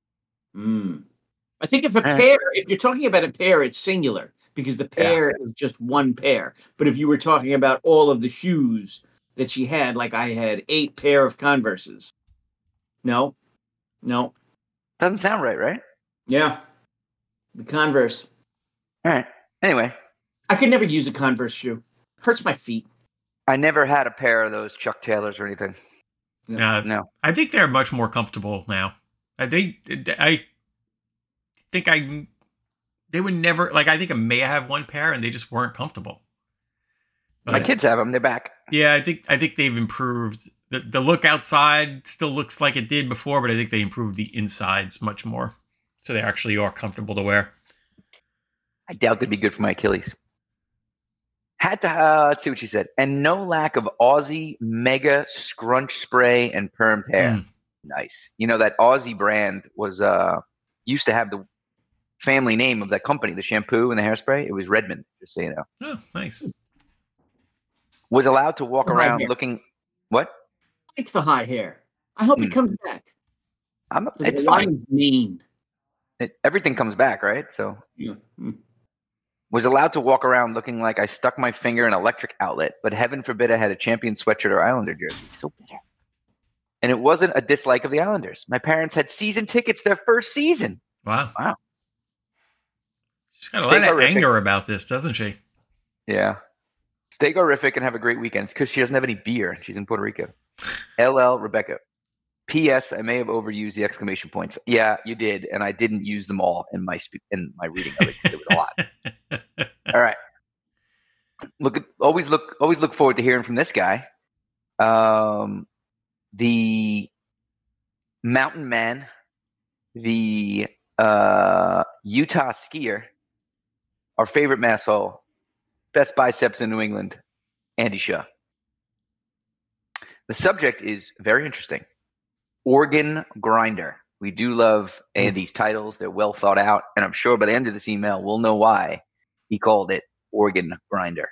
I think if you're talking about a pair, it's singular because the pair is just one pair. But if you were talking about all of the shoes that she had, like I had 8 pair of Converses. No. Doesn't sound right? Yeah. The Converse. All right. Anyway. I could never use a Converse shoe. Hurts my feet. I never had a pair of those Chuck Taylors or anything. No. I think they're much more comfortable now. They would never, like, I think I may have one pair and they just weren't comfortable. But, my kids have them. They're back. Yeah, I think they've improved. The look outside still looks like it did before, but I think they improved the insides much more. So they actually are comfortable to wear. I doubt they'd be good for my Achilles. Had to, let's see what she said. And no lack of Aussie Mega Scrunch Spray and Permed Hair. Nice. You know, that Aussie brand was used to have the family name of that company, the shampoo and the hairspray. It was Redmond, just so you know. Oh, nice. Was allowed to walk around looking. What? It's the high hair. I hope it comes back. It's fine. Mean. Everything comes back, right? So. Yeah. Was allowed to walk around looking like I stuck my finger in an electric outlet, but heaven forbid I had a Champion sweatshirt or Islander jersey. So bitter. And it wasn't a dislike of the Islanders. My parents had season tickets their first season. Wow. She's got a lot of anger about this, doesn't she? Yeah. Stay horrific and have a great weekend. It's because she doesn't have any beer. She's in Puerto Rico. LL Rebecca. P.S. I may have overused the exclamation points. Yeah, you did, and I didn't use them all in my reading of it. It was a lot. All right. Always look forward to hearing from this guy. The mountain man, the Utah skier, our favorite masshole, best biceps in New England, Andy Shaw. The subject is very interesting. Organ grinder. We do love Andy's titles. They're well thought out. And I'm sure by the end of this email, we'll know why he called it organ grinder.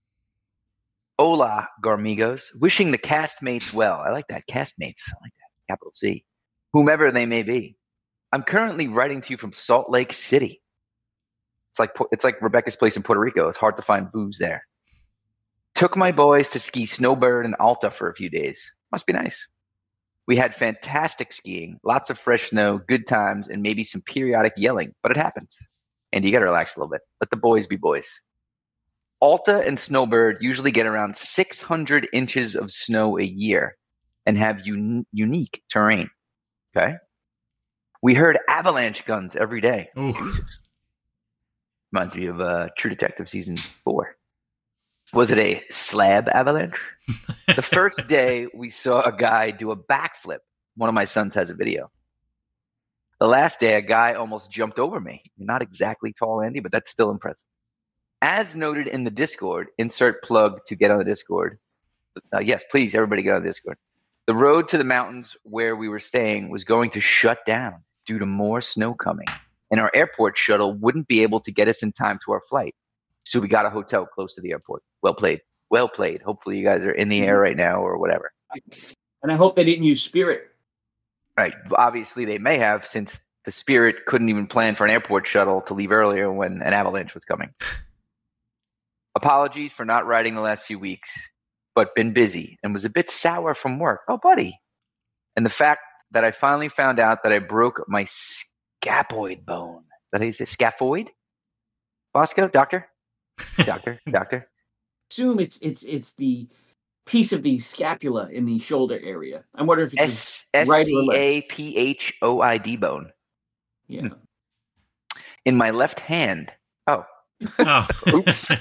Hola, Garmigos. Wishing the castmates well. I like that. Castmates. I like that. Capital C. Whomever they may be. I'm currently writing to you from Salt Lake City. It's like Rebecca's place in Puerto Rico. It's hard to find booze there. Took my boys to ski snowbird in Alta for a few days. Must be nice. We had fantastic skiing, lots of fresh snow, good times, and maybe some periodic yelling, but it happens. And you got to relax a little bit. Let the boys be boys. Alta and Snowbird usually get around 600 inches of snow a year and have unique terrain. Okay? We heard avalanche guns every day. Jesus. Reminds me of True Detective Season 4. Was it a slab avalanche? The first day we saw a guy do a backflip. One of my sons has a video. The last day, a guy almost jumped over me. Not exactly tall, Andy, but that's still impressive. As noted in the Discord, insert plug to get on the Discord. Yes, please, everybody get on the Discord. The road to the mountains where we were staying was going to shut down due to more snow coming, and our airport shuttle wouldn't be able to get us in time to our flight. So we got a hotel close to the airport. Well played. Well played. Hopefully you guys are in the air right now or whatever. And I hope they didn't use Spirit. Right. Obviously, they may have, since the Spirit couldn't even plan for an airport shuttle to leave earlier when an avalanche was coming. Apologies for not writing the last few weeks, but been busy and was a bit sour from work. Oh, buddy. And the fact that I finally found out that I broke my scaphoid bone. Is that how you say scaphoid? Bosco? Doctor? Doctor? Assume it's the piece of the scapula in the shoulder area. I wonder if it's scaphoid bone. Yeah. In my left hand. Oh. Oops.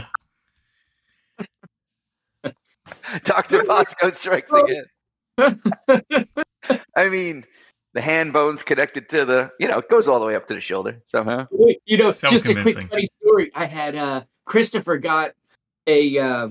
Dr. Bosco strikes again. I mean, the hand bone's connected to the, it goes all the way up to the shoulder somehow. So just convincing. A quick funny story. I had Christopher got a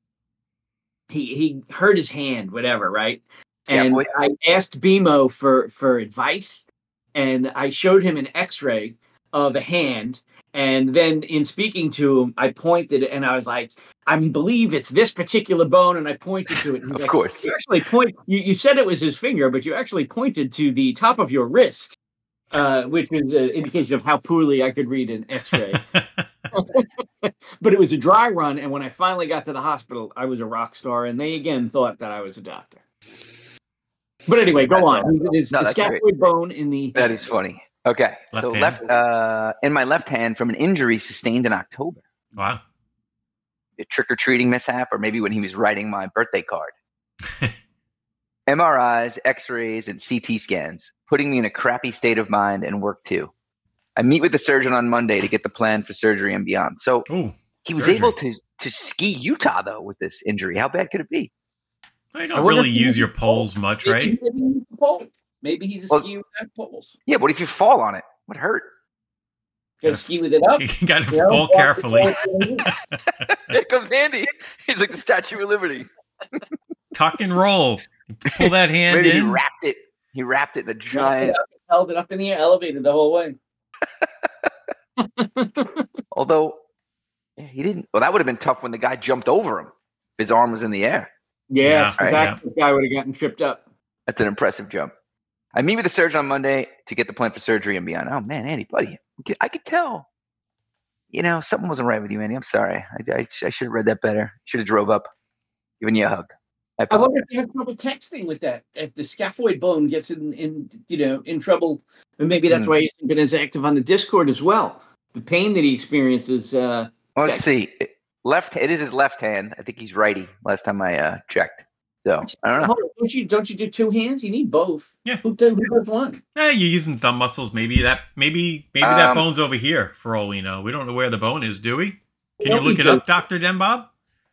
he hurt his hand, whatever, right? And I asked BMO for advice, and I showed him an X-ray of a hand, and then in speaking to him, I pointed and I was like, I believe it's this particular bone, and I pointed to it. Of like, course. You actually you said it was his finger, but you actually pointed to the top of your wrist, which is an indication of how poorly I could read an X-ray. But it was a dry run, and when I finally got to the hospital, I was a rock star, and they again thought that I was a doctor. But anyway, go on. It's the scaphoid bone in the... That is funny. Okay, in my left hand from an injury sustained in October. Wow. A trick-or-treating mishap, or maybe when he was writing my birthday card. MRIs, X-rays, and CT scans, putting me in a crappy state of mind and work too. I meet with the surgeon on Monday to get the plan for surgery and beyond. So he was able to ski Utah, though, with this injury. How bad could it be? You don't really use your poles much, right? Maybe he's a ski without poles. Yeah, but if you fall on it, what hurt? You gotta ski with it up. You gotta fall carefully. Here comes Andy. He's like the Statue of Liberty. Tuck and roll. You pull that hand Maybe in. He wrapped it in a giant. Held it up in the air, elevated the whole way. Although he didn't. Well, that would have been tough when the guy jumped over him. His arm was in the air. Yeah, the guy would have gotten tripped up. That's an impressive jump. I meet with the surgeon on Monday to get the plan for surgery and beyond. Oh man, Andy, buddy, I could tell. Something wasn't right with you, Andy. I'm sorry. I should have read that better. Should have drove up, given you a hug. I wonder if you have trouble texting with that. If the scaphoid bone gets in trouble, and maybe that's why he's been as active on the Discord as well. The pain that he experiences. Let's see. It is his left hand. I think he's righty. Last time I checked. So I don't know. Don't you do two hands? You need both. Yeah. Who does one? You're using thumb muscles. Maybe that bone's over here. For all we know, we don't know where the bone is, do we? Can you look it up, Dr. Denbob?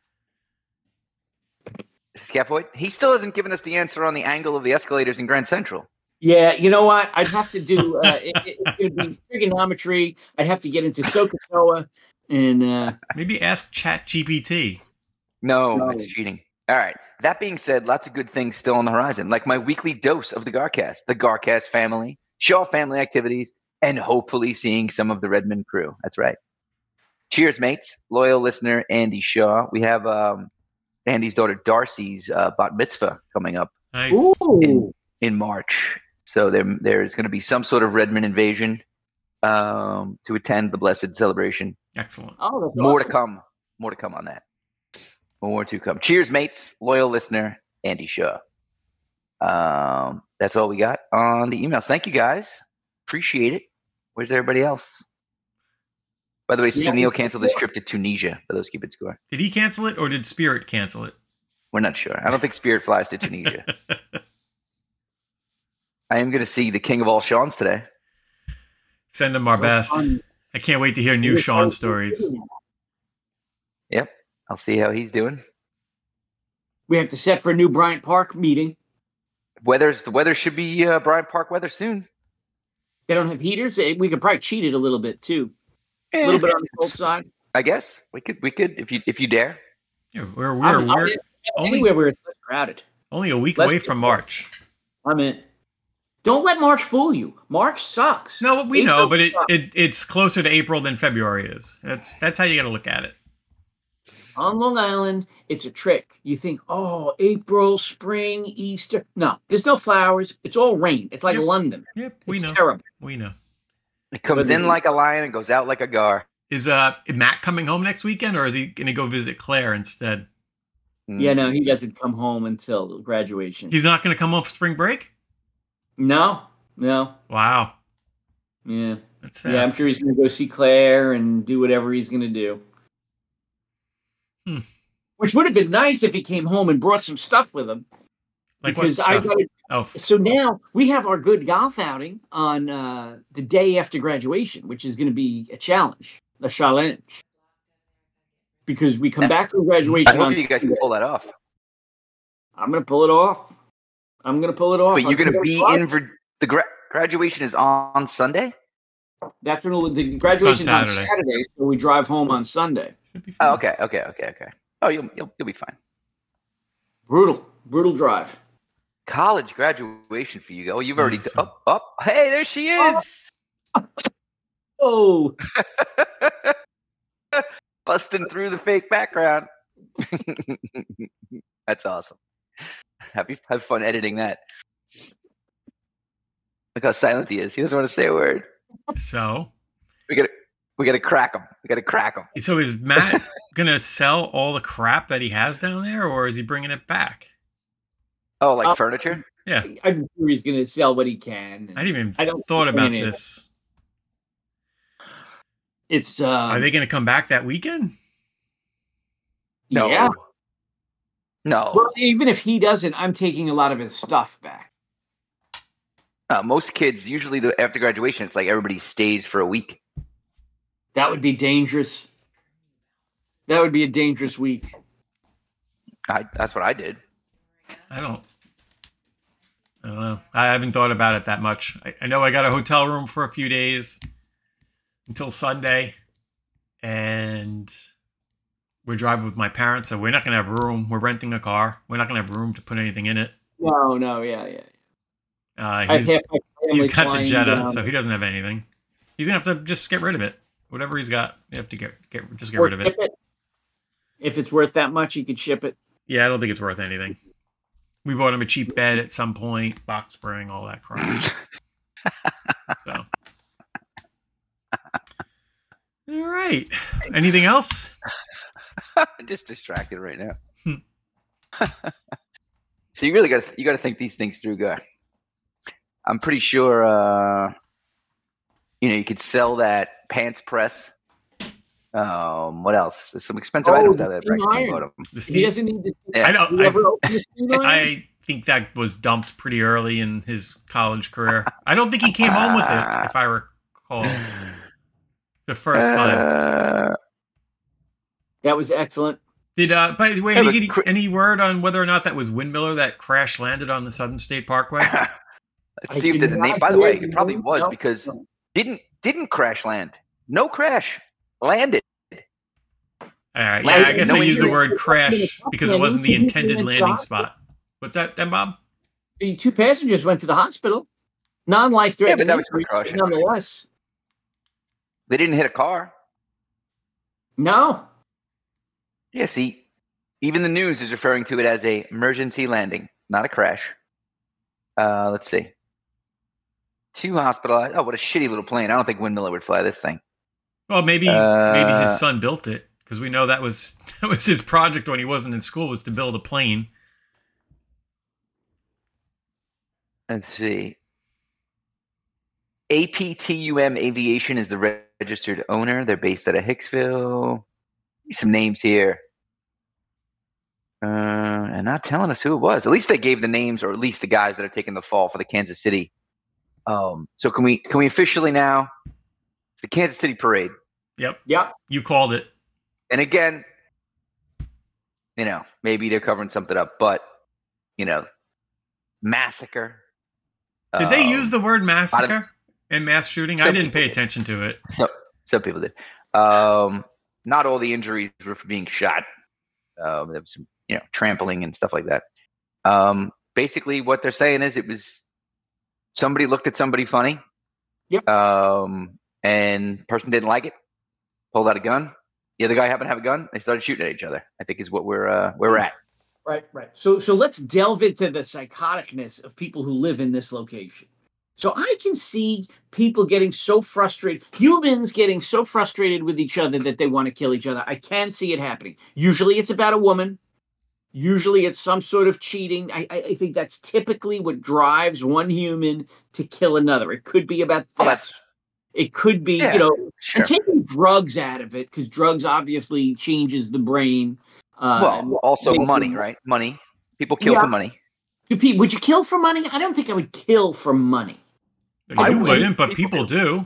Scaphoid? He still hasn't given us the answer on the angle of the escalators in Grand Central. Yeah, you know what? I'd have to do it would be trigonometry. I'd have to get into SOHCAHTOA and maybe ask ChatGPT. No, it's cheating. All right. That being said, lots of good things still on the horizon, like my weekly dose of the Garcast, the Garcast family, Shaw family activities, and hopefully seeing some of the Redmond crew. That's right. Cheers, mates. Loyal listener Andy Shaw. We have Andy's daughter Darcy's bat mitzvah coming up in March. So there's going to be some sort of Redmond invasion to attend the blessed celebration. Excellent. Oh, that's More awesome. to come. More to come on that. More to come. Cheers, mates. Loyal listener Andy Shaw. That's all we got on the emails. Thank you, guys. Appreciate it. Where's everybody else? By the way, Sunil canceled his trip to Tunisia, for those keeping score. Did he cancel it, or did Spirit cancel it? We're not sure. I don't think Spirit flies to Tunisia. I am going to see the king of all Seans today. Send him our best. I can't wait to hear new Sean stories. Yep. I'll see how he's doing. We have to set for a new Bryant Park meeting. The weather should be Bryant Park weather soon. They don't have heaters. We could probably cheat it a little bit too. A little bit on the cold side. I guess we could if you dare. Yeah, we're only anywhere where it's less crowded. Only a week away from March. I'm in. Don't let March fool you. March sucks. No, we know, but it's closer to April than February is. That's how you got to look at it. On Long Island, it's a trick. You think, oh, April, spring, Easter. No, there's no flowers. It's all rain. It's like London. Yep, it's terrible. We know. It comes in like a lion and goes out like a gar. Is Matt coming home next weekend, or is he going to go visit Claire instead? Yeah, no, he doesn't come home until graduation. He's not going to come home for spring break? No. Wow. Yeah. That's sad. Yeah, I'm sure he's going to go see Claire and do whatever he's going to do. Which would have been nice if he came home and brought some stuff with him. Like because what stuff? So now we have our good golf outing on the day after graduation, which is going to be a challenge. Because we come back from graduation. I hope you guys can pull that off. I'm going to pull it off. Wait, you're going to be in the graduation is on Sunday? That's when the graduation is on Saturday, so we drive home on Sunday. Oh, okay. Oh, you'll be fine. Brutal drive. College graduation for you. Oh, you've already up. Hey, there she is. Oh. Busting through the fake background. That's awesome. Have fun editing that. Look how silent he is. He doesn't want to say a word. So we gotta crack him. So is Matt gonna sell all the crap that he has down there, or is he bringing it back? Oh, like furniture? Yeah, I'm sure he's gonna sell what he can. I didn't even thought about this. It's are they gonna come back that weekend? No. Yeah. No. Well, even if he doesn't, I'm taking a lot of his stuff back. Most kids, usually after graduation, it's like everybody stays for a week. That would be dangerous. That would be a dangerous week. That's what I did. I don't know. I haven't thought about it that much. I know I got a hotel room for a few days until Sunday, and we're driving with my parents, so we're not going to have room. We're renting a car. We're not going to have room to put anything in it. No, yeah. He's got the Jetta, so he doesn't have anything. He's gonna have to just get rid of it. Whatever he's got, you have to get rid of it. If it's worth that much, you could ship it. Yeah, I don't think it's worth anything. We bought him a cheap bed at some point, box spring, all that crap. So, all right. Anything else? I'm just distracted right now. So you really got to think these things through, guy. I'm pretty sure, you could sell that pants press. What else? There's some expensive items out there. He doesn't need this. Yeah. I think that was dumped pretty early in his college career. I don't think he came home with it, if I recall, the first time. That was excellent. By the way, any word on whether or not that was Windmiller that crash landed on the Southern State Parkway? Let's see if there's a name. By the way, it probably was because didn't crash land. No crash. Landed. All right. Yeah, I guess I used the word crash because it wasn't the intended landing spot. What's that then, Bob? The 2 passengers went to the hospital. Non-life-threatening. Yeah, but that was precaution. Nonetheless. They didn't hit a car. No. Yeah, see, even the news is referring to it as a emergency landing, not a crash. Let's see. 2 hospitalized. Oh, what a shitty little plane. I don't think Windmiller would fly this thing. Well, maybe his son built it, because we know that was his project when he wasn't in school, was to build a plane. Let's see. APTUM Aviation is the registered owner. They're based out of Hicksville. Some names here. And not telling us who it was. At least they gave the names, or at least the guys that are taking the fall for the Kansas City. So can we officially now? It's the Kansas City Parade. Yep. You called it. And again, maybe they're covering something up, but massacre. Did they use the word massacre in mass shooting? I didn't pay attention to it. So some people did. Not all the injuries were from being shot. There was some, trampling and stuff like that. Basically, what they're saying is it was somebody looked at somebody funny. Yep. And person didn't like it, pulled out a gun. The other guy happened to have a gun. They started shooting at each other. I think is what where we're at. Right. So let's delve into the psychoticness of people who live in this location. So I can see people getting so frustrated, humans getting so frustrated with each other that they want to kill each other. I can see it happening. Usually it's about a woman. Usually it's some sort of cheating. I think that's typically what drives one human to kill another. It could be about theft. It could be, sure. And taking drugs out of it, because drugs obviously changes the brain. Also money, right? Money. People kill for money. Would you kill for money? I don't think I would kill for money. I wouldn't, but people do.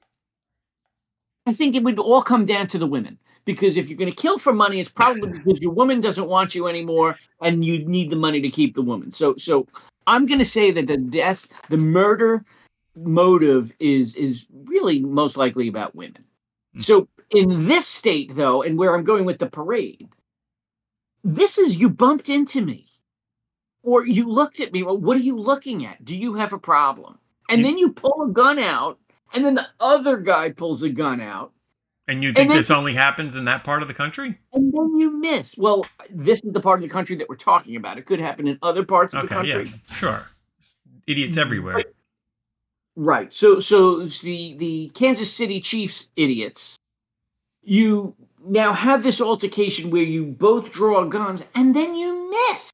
I think it would all come down to the women. Because if you're going to kill for money, it's probably because your woman doesn't want you anymore and you need the money to keep the woman. So I'm going to say that the murder motive is really most likely about women. So in this state, though, and where I'm going with the parade, this is you bumped into me or you looked at me. Well, what are you looking at? Do you have a problem? And then you pull a gun out and then the other guy pulls a gun out. And you think this only happens in that part of the country? And then you miss. Well, this is the part of the country that we're talking about. It could happen in other parts of the country. Yeah, sure. Idiots everywhere. Right. So the Kansas City Chiefs idiots, you now have this altercation where you both draw guns and then you miss.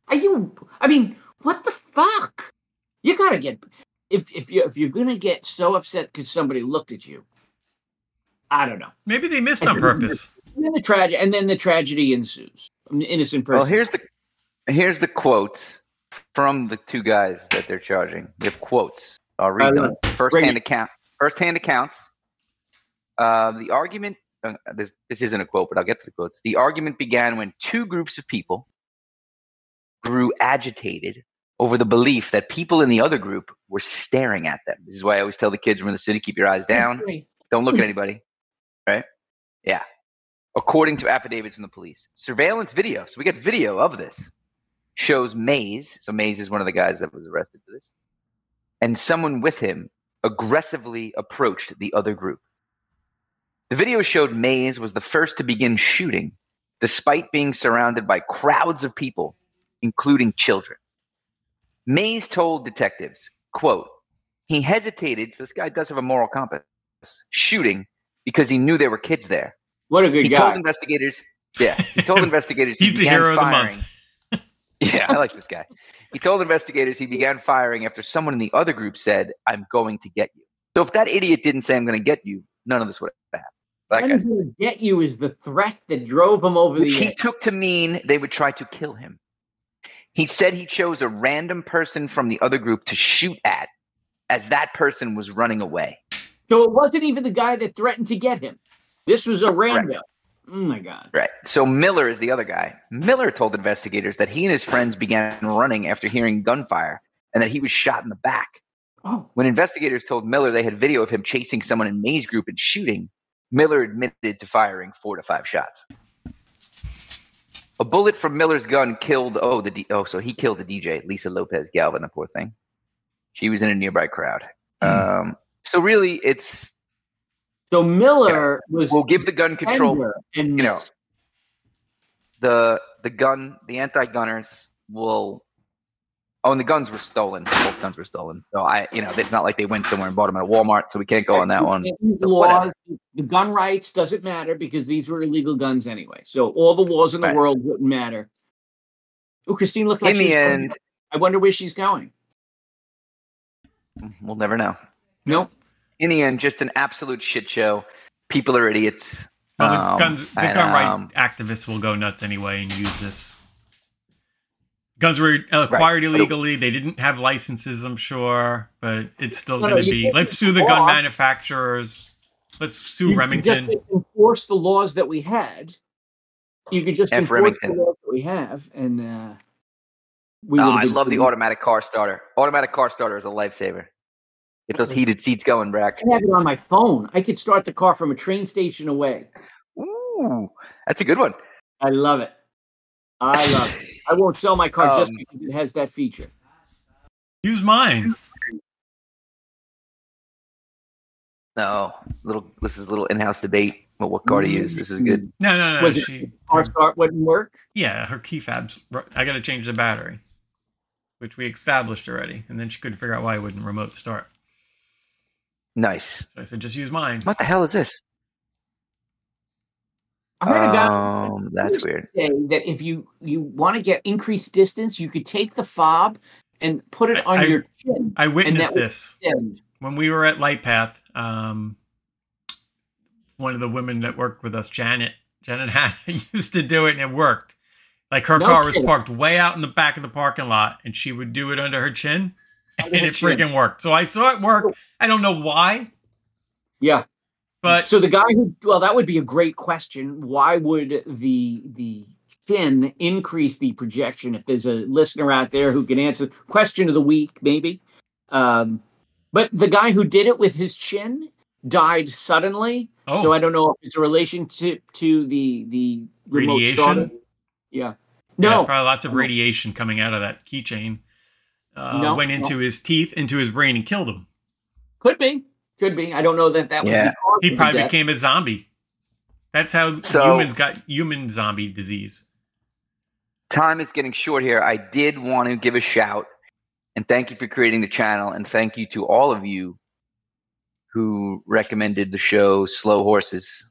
What the fuck? You gotta get if you're gonna get so upset because somebody looked at you. I don't know. Maybe they missed on purpose. And then the tragedy ensues. An innocent person. Well, here's the quotes from the two guys that they're charging. They have quotes. I'll read them. First-hand accounts. The argument. This isn't a quote, but I'll get to the quotes. The argument began when two groups of people grew agitated over the belief that people in the other group were staring at them. This is why I always tell the kids when in the city, keep your eyes down. Don't look at anybody. Right? Yeah. According to affidavits from the police. Surveillance video. So we got video of this. Shows Mays. So Mays is one of the guys that was arrested for this. And someone with him aggressively approached the other group. The video showed Mays was the first to begin shooting, despite being surrounded by crowds of people, including children. Mays told detectives, quote, he hesitated, so this guy does have a moral compass, shooting because he knew there were kids there. What a good guy. He told investigators he's the hero of the month. Yeah, I like this guy. He told investigators he began firing after someone in the other group said, I'm going to get you. So if that idiot didn't say, I'm going to get you, none of this would have happened. I'm going to get you is the threat that drove him over the edge. He took to mean they would try to kill him. He said he chose a random person from the other group to shoot at as that person was running away. So it wasn't even the guy that threatened to get him. This was a random. Right. Oh, my God. Right. So Miller is the other guy. Miller told investigators that he and his friends began running after hearing gunfire and that he was shot in the back. Oh. When investigators told Miller they had video of him chasing someone in May's group and shooting, Miller admitted to firing 4 to 5 shots. A bullet from Miller's gun killed, so he killed the DJ, Lisa Lopez Galvin, the poor thing. She was in a nearby crowd. So really, it's... So Miller was... We'll give the gun control, the gun, the anti-gunners will... Oh, and the guns were stolen. Both guns were stolen. So it's not like they went somewhere and bought them at a Walmart, so we can't go on that one. Laws, the gun rights doesn't matter because these were illegal guns anyway. So all the laws in the world wouldn't matter. Oh, Christine looked like in the end. I wonder where she's going. We'll never know. Nope. In the end, just an absolute shit show. People are idiots. Well, the gun right activists will go nuts anyway and use this. Guns were acquired illegally. They didn't have licenses, I'm sure, but it's still going to be. Let's sue the gun manufacturers. Let's sue Remington. You could just enforce the laws that we had. You could just enforce the laws that we have, and I love the automatic car starter. Automatic car starter is a lifesaver. Get those heated seats going, Brack. I have it on my phone. I could start the car from a train station away. Ooh, that's a good one. I love it. I love it. I won't sell my car just because it has that feature. Use mine. No, this is a little in-house debate about what car to use. This is good. No. Was it car start wouldn't work? Yeah, her key fabs. I got to change the battery, which we established already, and then she couldn't figure out why it wouldn't remote start. Nice. So I said, just use mine. What the hell is this? I heard about that's weird. That if you want to get increased distance, you could take the fob and put it on your chin. I witnessed this when we were at Lightpath. One of the women that worked with us, Janet Hanna, used to do it, and it worked. Like her car was parked way out in the back of the parking lot, and she would do it under her chin, and it freaking worked. So I saw it work. I don't know why. Yeah. But so the guy that would be a great question. Why would the chin increase the projection? If there's a listener out there who can answer, question of the week, maybe. But the guy who did it with his chin died suddenly. Oh. So I don't know if it's a relationship to the remote radiation. Starter. Yeah. No. Yeah, probably lots of radiation coming out of that keychain. Went into his teeth, into his brain, and killed him. Could be. I don't know that was the cause. He probably became a zombie. That's how humans got human zombie disease. Time is getting short here. I did want to give a shout and thank you for creating the channel, and thank you to all of you who recommended the show Slow Horses.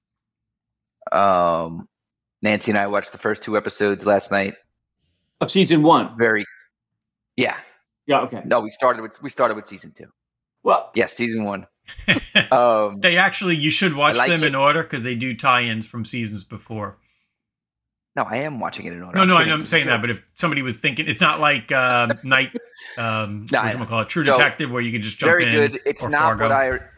Nancy and I watched the first 2 episodes last night of season 1. Yeah. Okay. No, we started with season 2. Well, yes, season 1. They actually, you should watch them in order because they do tie-ins from seasons before. No, I am watching it in order. No, I'm saying that, but if somebody was thinking, it's not like Night, True Detective, where you can just jump in. Very good. It's not Fargo.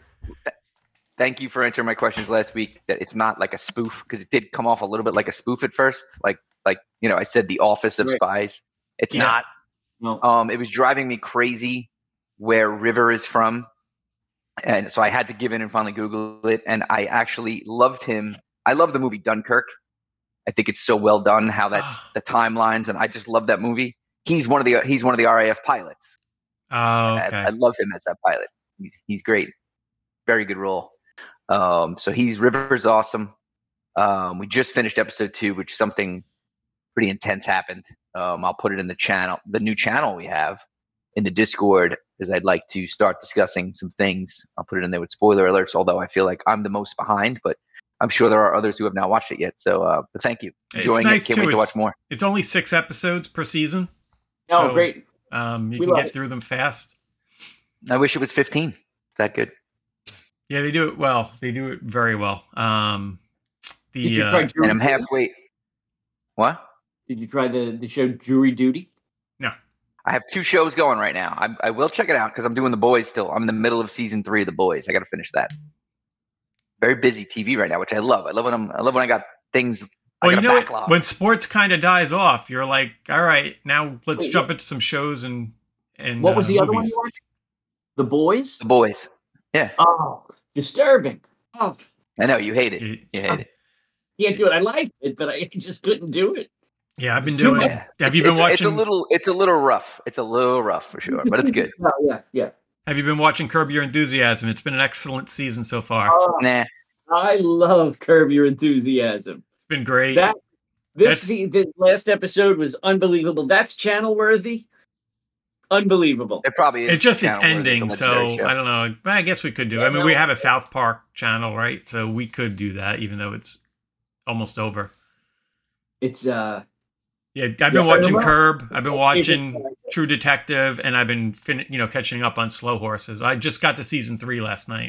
Thank you for answering my questions last week. That it's not like a spoof, because it did come off a little bit like a spoof at first. Like I said, The Office of Spies. It's not. No. It was driving me crazy where River is from, and so I had to give in and finally Google it. And I actually loved him. I love the movie Dunkirk. I think it's so well done how that's the timelines, and I just love that movie. He's one of the RAF pilots. Oh, okay. I love him as that pilot. He's great. Very good role. So River's awesome. We just finished episode 2, which something pretty intense happened. I'll put it in the new channel we have in the Discord, because I'd like to start discussing some things. I'll put it in there with spoiler alerts, although I feel like I'm the most behind, but I'm sure there are others who have not watched it yet. So, but thank you. Enjoying it. Can't wait to watch more. It's only 6 episodes per season. Oh, so, great. You can get through them fast. I wish it was 15. It's that good. Yeah, they do it well. They do it very well. And I'm halfway. What? Did you try the show Jury Duty? No. I have 2 shows going right now. I will check it out because I'm doing The Boys still. I'm in the middle of season 3 of The Boys. I got to finish that. Very busy TV right now, which I love. I love when I got things. Well, you know what? When sports kind of dies off, you're like, all right, now let's jump into some shows and what was the other one you watched? The Boys? The Boys. Yeah. Oh, disturbing. Oh. I know you hate it. You hate it. Can't do it. I liked it, but I just couldn't do it. Yeah, I've been doing it. Have you been watching? It's a little rough. It's a little rough for sure, but it's good. Yeah. Have you been watching Curb Your Enthusiasm? It's been an excellent season so far. Nah. I love Curb Your Enthusiasm. It's been great. The last episode was unbelievable. That's channel worthy. Unbelievable. It probably is. It's just its ending, so I don't know. I guess we could do it. I mean, we have a South Park channel, right? So we could do that, even though it's almost over. It's Yeah, I've been watching Curb. I've been watching True Detective, and I've been catching up on Slow Horses. I just got to season 3 last night.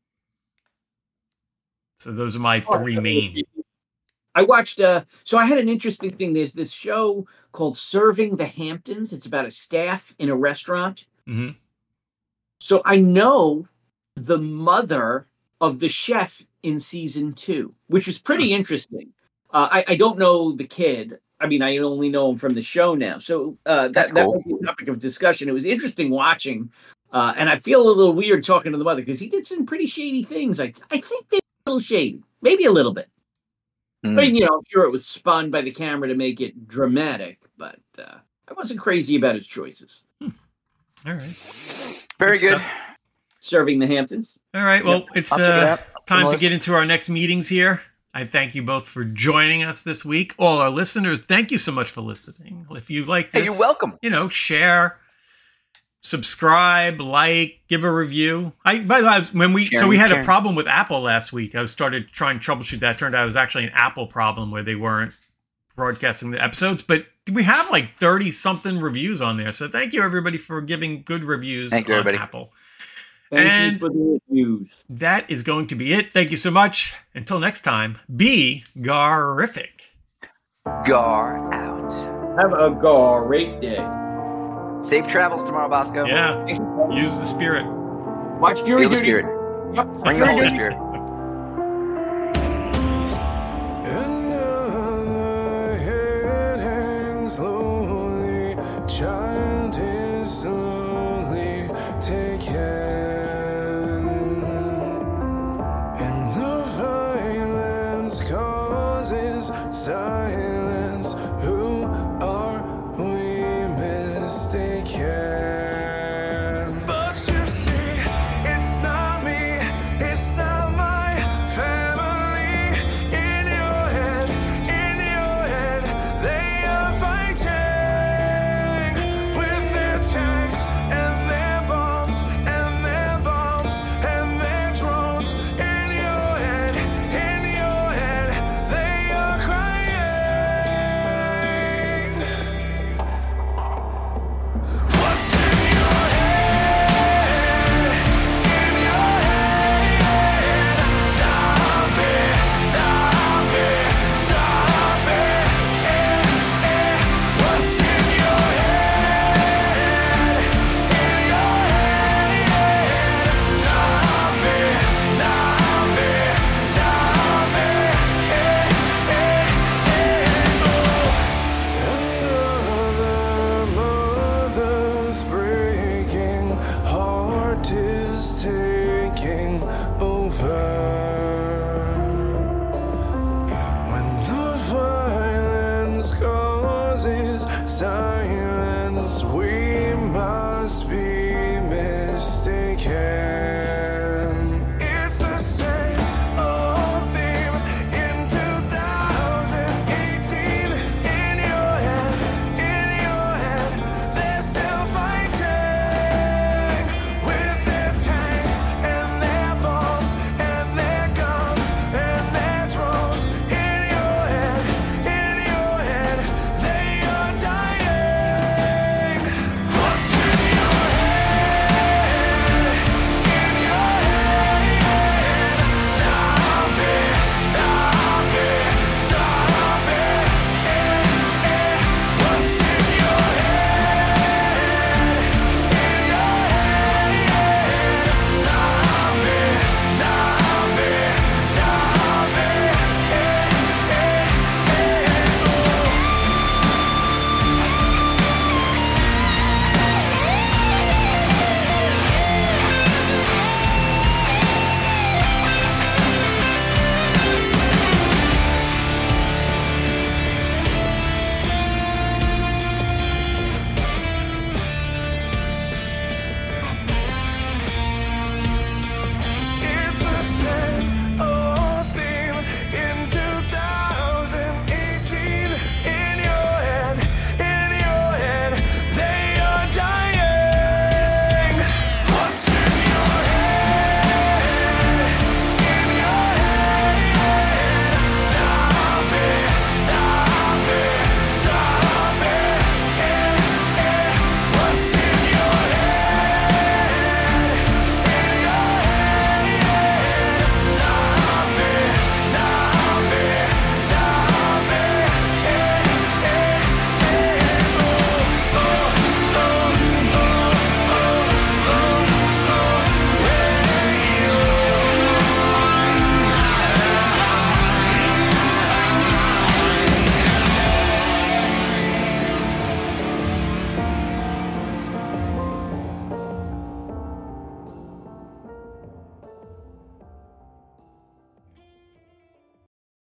So those are my 3 main. I watched. So I had an interesting thing. There's this show called Serving the Hamptons. It's about a staff in a restaurant. Mm-hmm. So I know the mother of the chef in season 2, which was pretty interesting. I don't know the kid. I mean, I only know him from the show now. So that was the topic of discussion. It was interesting watching And I feel a little weird talking to the mother because he did some pretty shady things. I think they're a little shady, maybe a little bit. I mean, I'm sure it was spun by the camera to make it dramatic, but I wasn't crazy about his choices. All right. Very good. Serving the Hamptons. All right. Well, it's time to get into our next meetings here. I thank you both for joining us this week. All our listeners, thank you so much for listening. If you like this, you're welcome. Share, subscribe, like, give a review. By the way, we had a problem with Apple last week. I started trying to troubleshoot that. It turned out it was actually an Apple problem where they weren't broadcasting the episodes, but we have like 30 something reviews on there. So thank you everybody for giving good reviews on Apple. Thank you for the reviews. That is going to be it. Thank you so much. Until next time, be garific. Gar out. Have a great day. Safe travels tomorrow, Bosco. Yeah. Use the spirit. Watch Jury Feel the Duty. spirit. Yep. Bring the Holy Spirit.